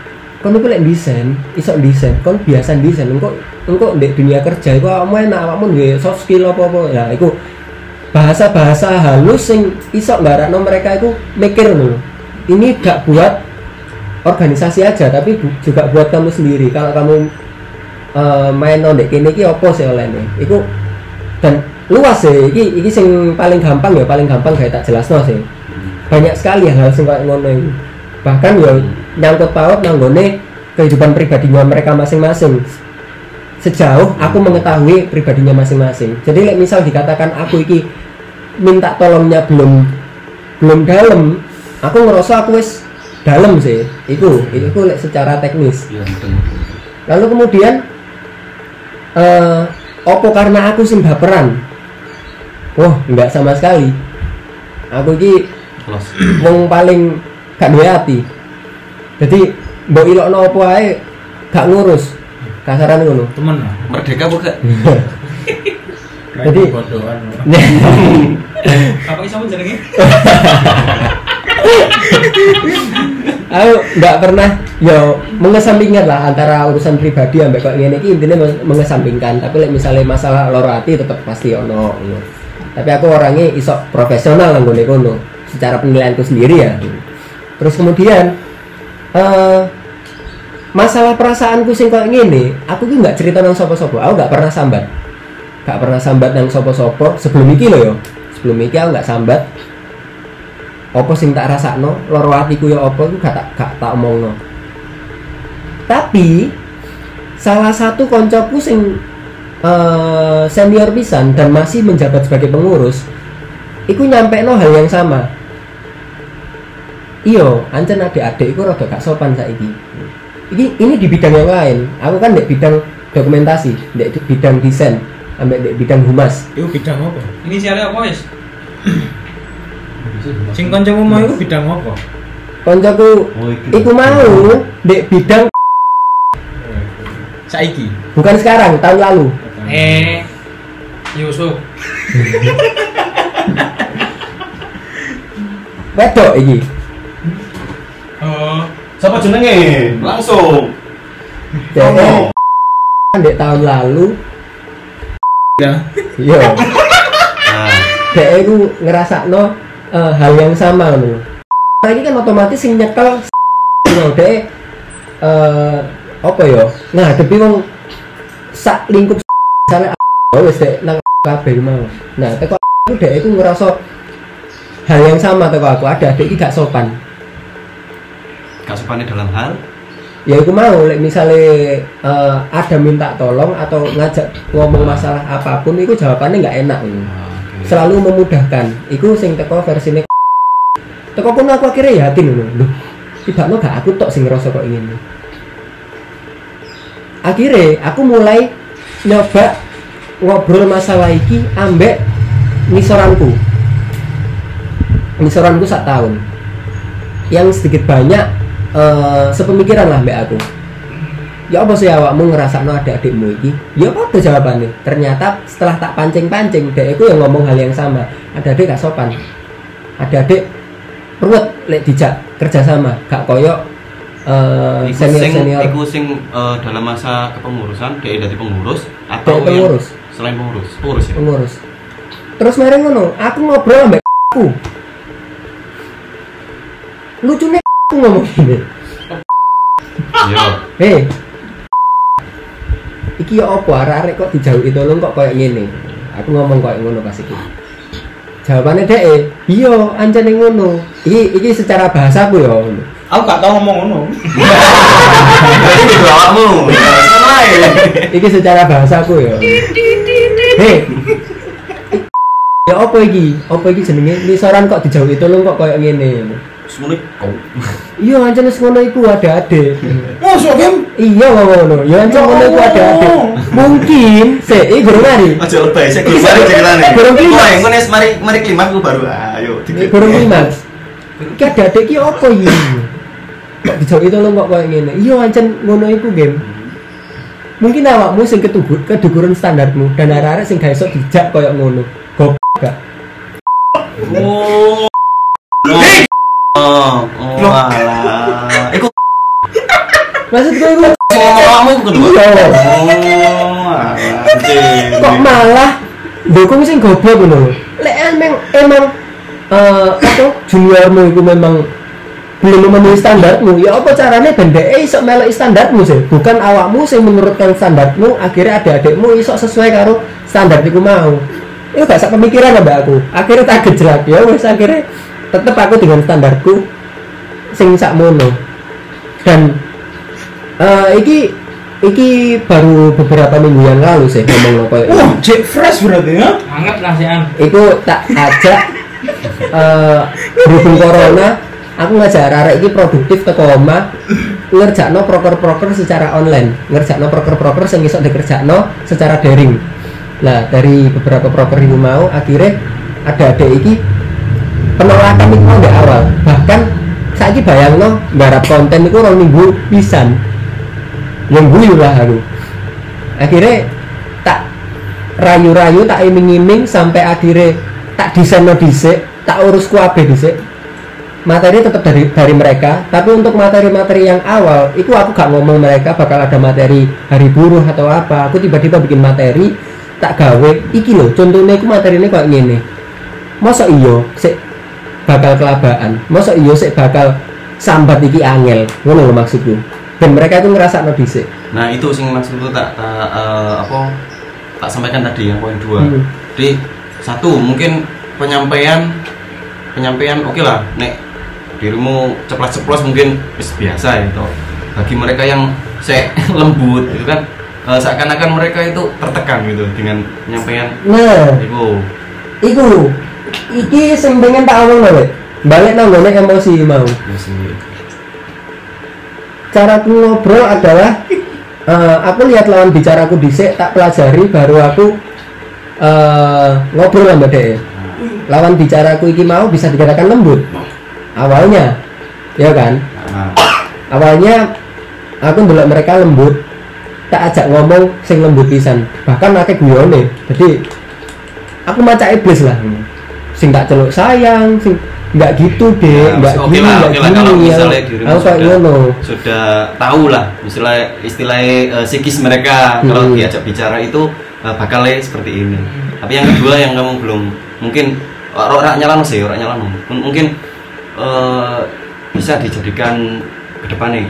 kon iku lek desain, iso desain, kon biasa desain, engko ndek dunia kerja iku awakmu enak, awakmu duwe soft skill apa-apa. Ya iku bahasa-bahasa halus sing iso nggarakno mereka itu mikir lho. Ini gak buat organisasi aja tapi juga buat kamu sendiri. Kalau kamu main ndek kene iki apa sih olehne? Iku dan luas sih, iki sing paling gampang gawe tak jelasno sih. Banyak sekali hal sing koyo ngono iki. Bahkan ya nyangkut paut nanggone kehidupan pribadinya mereka masing-masing. Sejauh aku mengetahui pribadinya masing-masing. Jadi like, misal dikatakan aku iki minta tolongnya belum dalam, aku ngerasa aku wis dalam sih. Iku like, secara teknis. Ya, betul. Lalu kemudian opo karena aku sing baperan? Wah, enggak sama sekali. Aku iki wong paling gak duwe ati. Jadi mbok ilokno opo ae gak ngurus. Kasaran ngono. Temen. Merdeka bukan? Jadi bodohan. Apa iso jenenge? Aku nggak pernah mengesampingkan lah antara urusan pribadi ambek kok ngene iki intine mengesampingkan. Tapi misalnya masalah loro ati tetep pasti ono. Tapi aku orangnya iso profesional nang ngene kono secara penilaianku sendiri ya. Terus kemudian masalah perasaanku sing koyo ngene, aku ki nggak cerita nang sapa-sapa. Aku nggak pernah sambat. Gak pernah sambat nang sapa-sapa sebelum iki lho yo. Sebelum iki aku nggak sambat. Apa sing tak rasakno, loro atiku yo apa iku gak tak omongno. Tapi salah satu koncoku sing senior pisan dan masih menjabat sebagai pengurus, iku nyampekno hal yang sama. Iyo, ancen adik-adik iku rada gak sopan saiki. Ini di bidang yang lain. Aku kan di bidang dokumentasi, di bidang desain, ambek di bidang humas. Itu bidang apa? Inisialnya apa, Wis? Sing kancamu mau iku bidang apa? Koncoku iku mau di bidang Saiki. bukan sekarang, tahun lalu. Yusuf. Wedok iki. Oh, Siapa jenenge? Langsung. Dek di tahun lalu. Ya. Iya. Nah, Dek iku ngerasakno hal yang sama ngono. Nah, ini kan otomatis sing nyekel dek apa ya? Nah, tapi wong sak lingkup sampe wis dek nang kabeh mau. Nah, teko aku dek iku ngerasa hal yang sama teko aku, ada adik iki gak sopan. gak sopannya dalam hal Ya aku mau, misalnya ada minta tolong atau ngajak ngomong masalah apapun, itu jawabannya nggak enak. Selalu memudahkan. Iku sing teko versine. Teko pun aku akhirnya yakin loh. Tiba no gak aku tok sing ngerasa kok ingin. Akhirnya aku mulai nyoba ngobrol masalah iki ambek misoranku. Misoranku 1 tahun. Yang sedikit banyak sepemikiran lah mbak aku. Ya apa sih awakmu ngerasakno adik-adikmu iki? Ya apa tuh jawabannya? Ternyata setelah tak pancing-pancing, dek aku yang ngomong hal yang sama. Ada adik gak sopan. Ada adik ruwet lek dijak kerja sama, gak koyok senior-senior. iku sing dalam masa kepengurusan dia dari pengurus atau pengurus. Selain pengurus ya. Pengurus. Terus mari ngono, aku ngobrol mbak aku. Lucunya aku ngomong gini. Yo. Hei, iki ya apa arek-arek kok dijauhi tolong kok kayak gini. Aku ngomong kayak ngono pas iki. Jawabannya dek, iya ancane ngono. Iki secara bahasaku ya. Aku gak tau ngomong ngono. Ini awakmu. Iki secara bahasaku ya. Hei. Ya apa iki? Apa iki jenenge? Misoran kok dijauhi tolong kok kayak gini. Semuanya kau. Iya ancen wis ngono iku ada-ade. Masuk game. Iya ngono. Ya ancen ngono iku ada-ade. Mungkin iki gurung mari. Aja lebay sik guru mari ceritane. Gurung klimaks. Engko nek mari klimaks ku baru ayo. Gurung klimaks. Iki ada-ade iki apa iki? Kok dijauhi tolong kok koyo ngene. Iya ancen ngono iku game. Mungkin awakmu sing kedukuran standarmu dan arek-arek sing gak iso dijak koyo ngono. Goblok gak? Oh. Oh alah. Iku Maksudku itu Kamu itu kedua. iya. Anjing. Kok malah dukung sing goblok ngono. Lek emang apa juniormu itu memang belum memenuhi standarmu, ya apa caranya ben dhek iso melok standarmu sih, bukan awakmu sing menurutkan standarmu, akhirnya adik-adikmu iso sesuai karo standar iku mau. Itu gak sak pemikiran mbak aku. Akhirnya tak gejlak ya wis, akhirnya tetep aku dengan standarku sing sakmono. Dan iki baru beberapa minggu yang lalu sih ngomong koyo Wah, Jack Fresh berarti ya? Anget lah sih iku tak ajak berhubung corona aku ngajak arek iki produktif teko omah ngerjakno proker-proker secara online, ngerjakno proker-proker sing iso dikerjakno secara daring. Nah, dari beberapa proker itu mau akhirnya ada iki penolakan itu mau dari awal. Bahkan saiki bayangno nggarap konten iku 2 minggu pisan. Yang guyu lah aku. Akhirnya tak rayu-rayu, tak iming-iming sampai akhirnya tak desainno dhisik, tak urus kabeh dhisik. Materi tetap dari mereka, tapi untuk materi-materi yang awal itu aku gak ngomong mereka bakal ada materi hari buruh atau apa. Aku tiba-tiba bikin materi tak gawe iki lho, contohnya aku materi ini kayak gini. Masa iyo sik bakal kelabaan, masa iyo sik bakal sambat iki angel, ngono lho maksudku. Dan mereka itu ngerasa no dhisik. Nah, itu sing maksudku tak sampaikan tadi yang poin 2. Jadi satu mungkin penyampaian oke lah, nek dirimu ceplas-ceplos mungkin biasa itu. Bagi mereka yang lembut gitu kan, seakan-akan mereka itu tertekan gitu dengan penyampaian. Nah, iki sing pengen tak omong lho, balik nang ngene emosi mau. Caraku ngobrol adalah aku lihat lawan bicaraku dhisik, tak pelajari baru aku ngobrol sama dhek. Lawan bicaraku iki mau bisa dikatakan lembut. Awalnya, ya kan? Awalnya aku ndelok mereka lembut, tak ajak ngomong sing lembut pisan. Bahkan akeh guyone. Jadi aku maca iblis lah. Sing tak celuk sayang, sing enggak gitu deh, enggak oke lah kalau misalnya dirimu sudah tahu lah istilah psikis mereka kalau diajak bicara itu bakal seperti ini. Tapi yang kedua yang kamu belum mungkin orang nyalano mungkin bisa dijadikan ke depan nih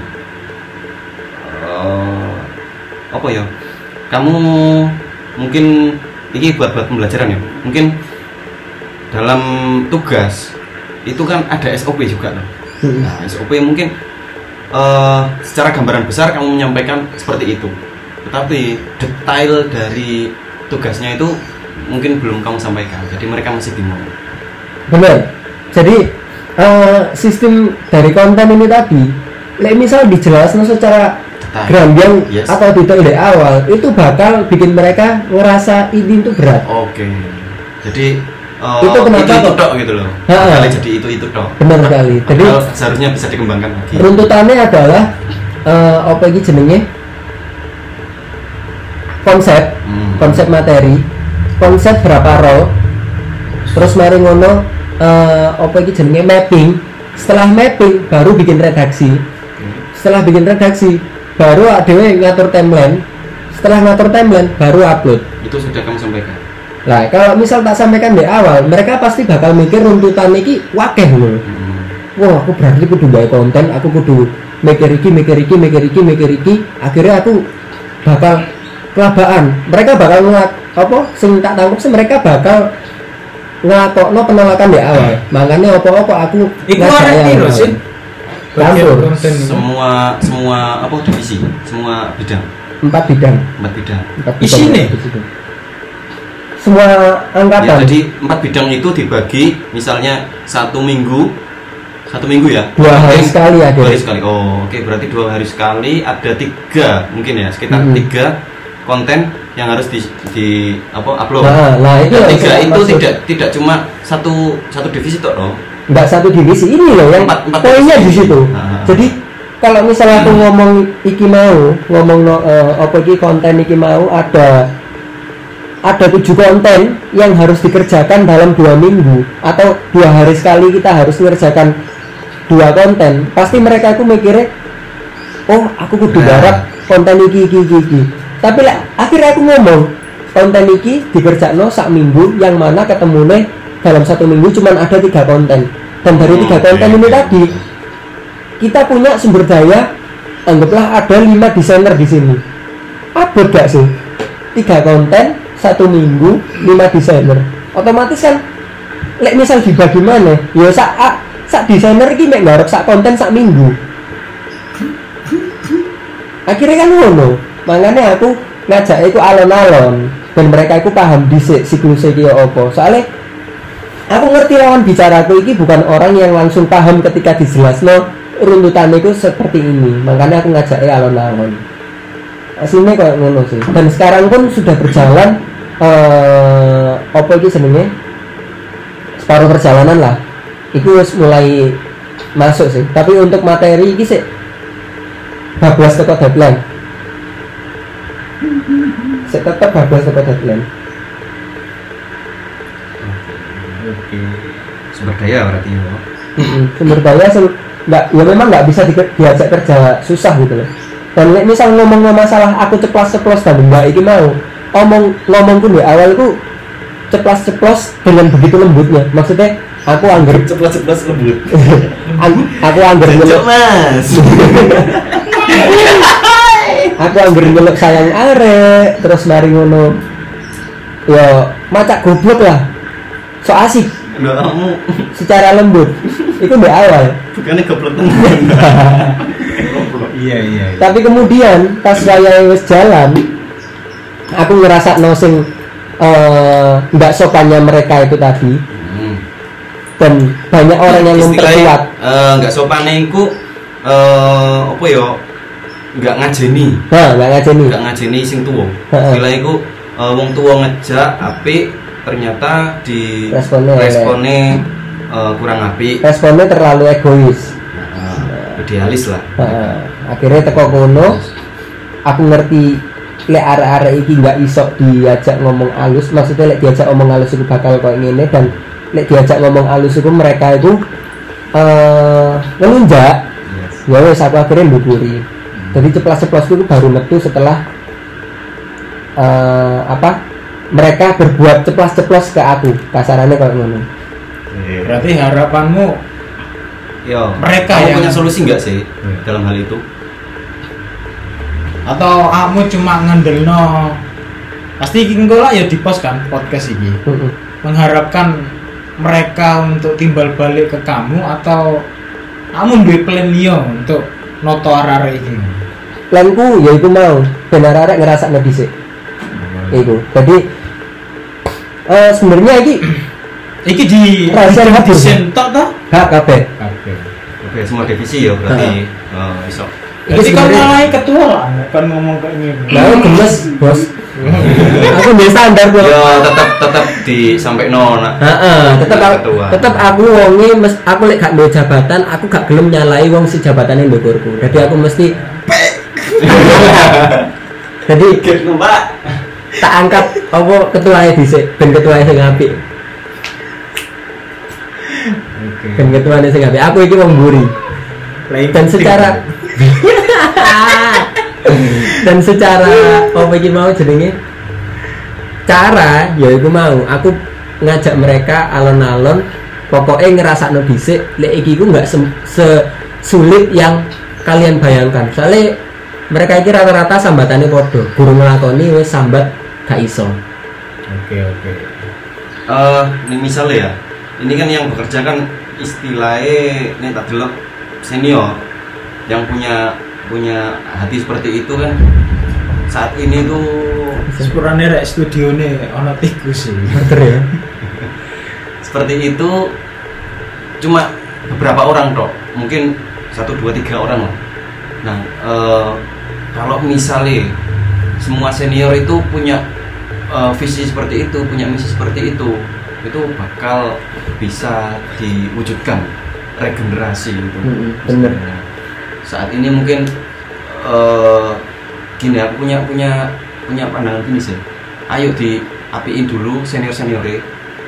apa ya, kamu mungkin ini buat pembelajaran ya, mungkin dalam tugas itu kan ada SOP juga loh. Nah, SOP mungkin secara gambaran besar kamu menyampaikan seperti itu, tetapi detail dari tugasnya itu mungkin belum kamu sampaikan, jadi mereka masih bingung. Benar. Jadi sistem dari konten ini tadi, misal dijelaskan secara gamblang atau detail dari awal, itu bakal bikin mereka ngerasa ini itu berat. Oke. Jadi itu kenapa itu tok gitu loh. Kali jadi itu tok. Benar sekali. Jadi seharusnya bisa dikembangkan lagi. Runtutannya adalah apa iki jenenge? Konsep materi, konsep berapa role. Terus mari ngono apa iki jenenge mapping. Setelah mapping baru bikin redaksi. Setelah bikin redaksi baru dhewe ngatur timeline. Setelah ngatur timeline baru upload. Itu sudah kamu sampaikan. Nah, kalau misal tak sampaikan di awal, mereka pasti bakal mikir runtutan iki wakeh lho. Wah, aku berarti kudu gawe konten, aku kudu mikir iki. Akhirnya aku bakal kelabaan. Mereka bakal sing tak tangkap sih mereka bakal ngakokno penolakan di awal. Makanya apa aku ngajak sih. Campur semua divisi, semua bidang. 4 bidang. Isine semua angkatan. Ya, jadi 4 bidang itu dibagi, misalnya 1 minggu ya. 2 hari sekali ya. 2 hari sekali. Oh, oke, berarti 2 hari sekali ada 3 mungkin ya, sekitar 3 konten yang harus di upload. Nah itu 3 itu tidak cuma satu divisi toh dong. Enggak satu divisi, ini loh yang poinnya di situ. Jadi kalau misalnya aku ngomong iki mau, konten iki mau ada 7 konten yang harus dikerjakan dalam 2 minggu atau 2 hari sekali kita harus mengerjakan 2 konten, pasti mereka itu mikirnya oh aku kudu garap konten iki. Tapi akhirnya aku ngomong konten iki dikerjakno sak minggu, yang mana ketemune dalam 1 minggu cuman ada 3 konten. Dan dari 3 konten ini tadi kita punya sumber daya, anggaplah ada 5 desainer di sini. Abot gak sih? 3 konten 1 minggu 5 desainer. Otomatis kan lek misal dibagi mana? Ya sak desainer iki mek garap sak konten sak minggu. Akhirnya kan ngono. Makanya aku ngajak iku alon-alon dan mereka iku paham dhisik siklus iki apa. Soalnya aku ngerti lawan bicaraku iki bukan orang yang langsung paham ketika dijelasno runtutan itu seperti ini. Makanya aku ngajak alon-alon. Aslinya kayak ngono sih. Dan sekarang pun sudah berjalan apa iki jenenge? Separuh perjalanan lah. Iku mulai masuk sih. Tapi untuk materi iki sih bablas teko deadline. Saya tetap bablas teko deadline. Oke. Sumber daya berarti ya. Sumber daya nggak, ya memang nggak bisa diajak kerja susah gitu loh. Dan misal ngomong masalah aku ceplos-ceplos dan mbak iki mau ngomong pun di awal itu ceplos-ceplos dengan begitu lembutnya. Maksudnya aku angger Ceplos lembut. aku angger nyeluk Mas. aku angger nyeluk sayang arek, terus mari ngono ya macak goblok lah, so asik Kamu secara lembut itu di awal. bukannya goblok tenan. Iya. Tapi kemudian pas saya wis jalan, aku ngerasa nosing nggak sopannya mereka itu tadi. Dan banyak orang yang memperkuat. Nggak sopannya iku apa ya? Nggak ngajeni. Nggak ngajeni sing tuwa. Bila iku wong tuwa ngejak apik, ternyata di responnya kurang apik. Responnya terlalu egois. Idealis lah. Akhirnya teko kono, aku ngerti lek arek-arek iki nggak iso diajak ngomong halus. Maksudnya lek diajak ngomong halus itu bakal kayak ngene, dan lek diajak ngomong halus itu mereka itu ngelunjak. Ya wes aku akhirnya mbukuri. Jadi ceplas-ceplosku itu baru metu setelah mereka berbuat ceplas-ceplos ke aku, kasarannya kayak ngono. Berarti harapanmu mereka yang punya solusi nggak sih dalam hal itu? Atau kamu cuma ngandelno pasti engko lah ya di post kan podcast ini mengharapkan mereka untuk timbal balik ke kamu, atau kamu duwe plan liya untuk noto arek iki? Planku ya iku mau ben arek ngerasakno dhisik. Iku. Jadi sebenarnya iki di rahasia desain tok ta? Hak kabeh. Oke, semua divisi ya berarti iso. Jadi kan ngalahi ketua lah, kan ngomong kayak gini. Lah gemes, Bos. Aku ndek standar kok. Ya tetap disampaikno nak. Tetep aku wonge aku lek gak duwe jabatan, aku gak gelem nyalai wong si jabatane ndukurku. Jadi aku mesti jadi Mbak. tak angkat apa ketuae dhisik, ben ketuae sing apik. Ben ketuane sing apik. Aku iki wong mburi. Dan secara apa iki mau jenenge? Cara ya iku mau aku ngajak mereka alon-alon, pokoknya ngerasakno dhisik lek iki ku enggak sulit yang kalian bayangkan. Soalnya mereka iki rata-rata sambatane padha, guru nglakoni wis sambat gak iso. Oke. Ini misalnya ya, ini kan yang bekerja kan istilahnya ini tak delok senior yang punya hati seperti itu kan saat ini tuh sepurane rek studione ana tikus sih. Bener ya. Seperti itu cuma beberapa orang toh, mungkin 1, 2, 3 orang lah. Nah, kalau misalnya semua senior itu punya visi seperti itu, punya misi seperti itu bakal bisa diwujudkan regenerasi itu. Bener. Saat ini mungkin gini, aku punya pandangan gini sih. Ayo diapiin dulu seniornya.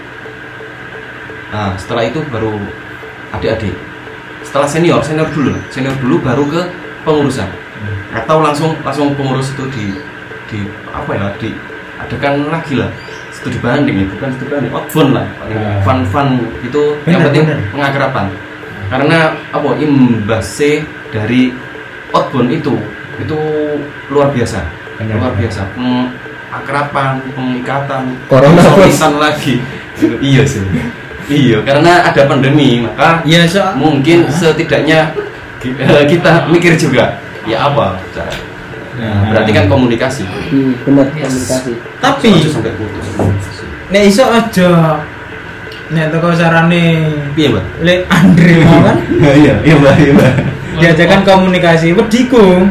Nah, setelah itu baru adik-adik. Setelah senior dulu baru ke pengurusan. atau langsung pengurus itu di apa ya, diadakan lagi lah studi banding ya, bukan studi banding, outbound lah, fun itu yang penting pengakraban. Karena apa, imbasnya dari outbound itu luar biasa. Luar biasa, pengakraban, pengikatan, konsolidasi lagi. Iya sih. Iya, karena ada pandemi, maka ya mungkin setidaknya kita mikir juga, ya apa cara. Berarti kan komunikasi. Benar, komunikasi. Tapi sampai putus. nek iso aja nek teko sarane Piye, Mbak? Lek Andre mau kan Iya, Mbak. diajakan komunikasi wediku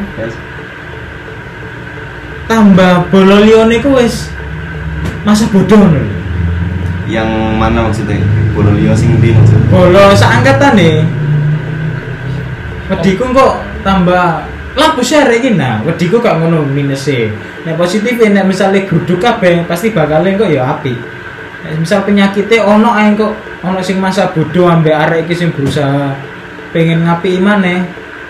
tambah bolo liyane ku wis masa bodoh lho. Yang mana maksudnya? Bolo liya sing ndi maksudnya? Bolo saangkatane wediku kok tambah lampu share iki nah wediku gak ngono minuse. Nek positif nek misale gruduk kabeh pasti bakal kok ya apik. Nek misal penyakitnya ono ae kok ono sing masa bodoh ambek arek iki sing berusaha pengen ngapi maneh.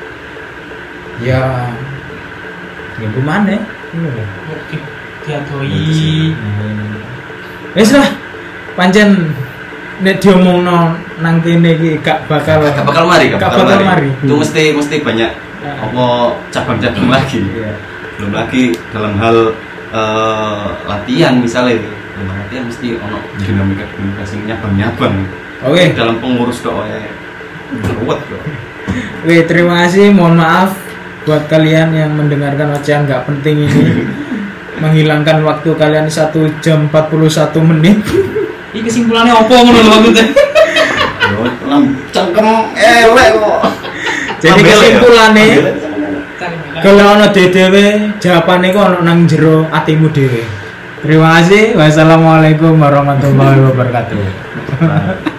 Ya ngembu maneh. Diadoi. Wis lah. Pancen nek diomongno nang kene iki gak bakal mari. Itu Itu mesti banyak apa cabang-cabang lagi. Iya. Belum lagi dalam hal latihan misalnya itu. Dalam latihan mesti ono dinamika sing nyabang-nyabang. Oke. Dalam pengurus kok ruwet kok. Oke, terima kasih. Mohon maaf buat kalian yang mendengarkan ocehan gak penting ini. Menghilangkan waktu kalian 1 jam 41 menit. Ini kesimpulannya apa ngono lho maksudnya? Cangkem elek kok. Jadi kesimpulannya kalau ono dhewe jawabane kok ono nang jero atimu dhewe. Terima kasih. Wassalamualaikum warahmatullahi wabarakatuh.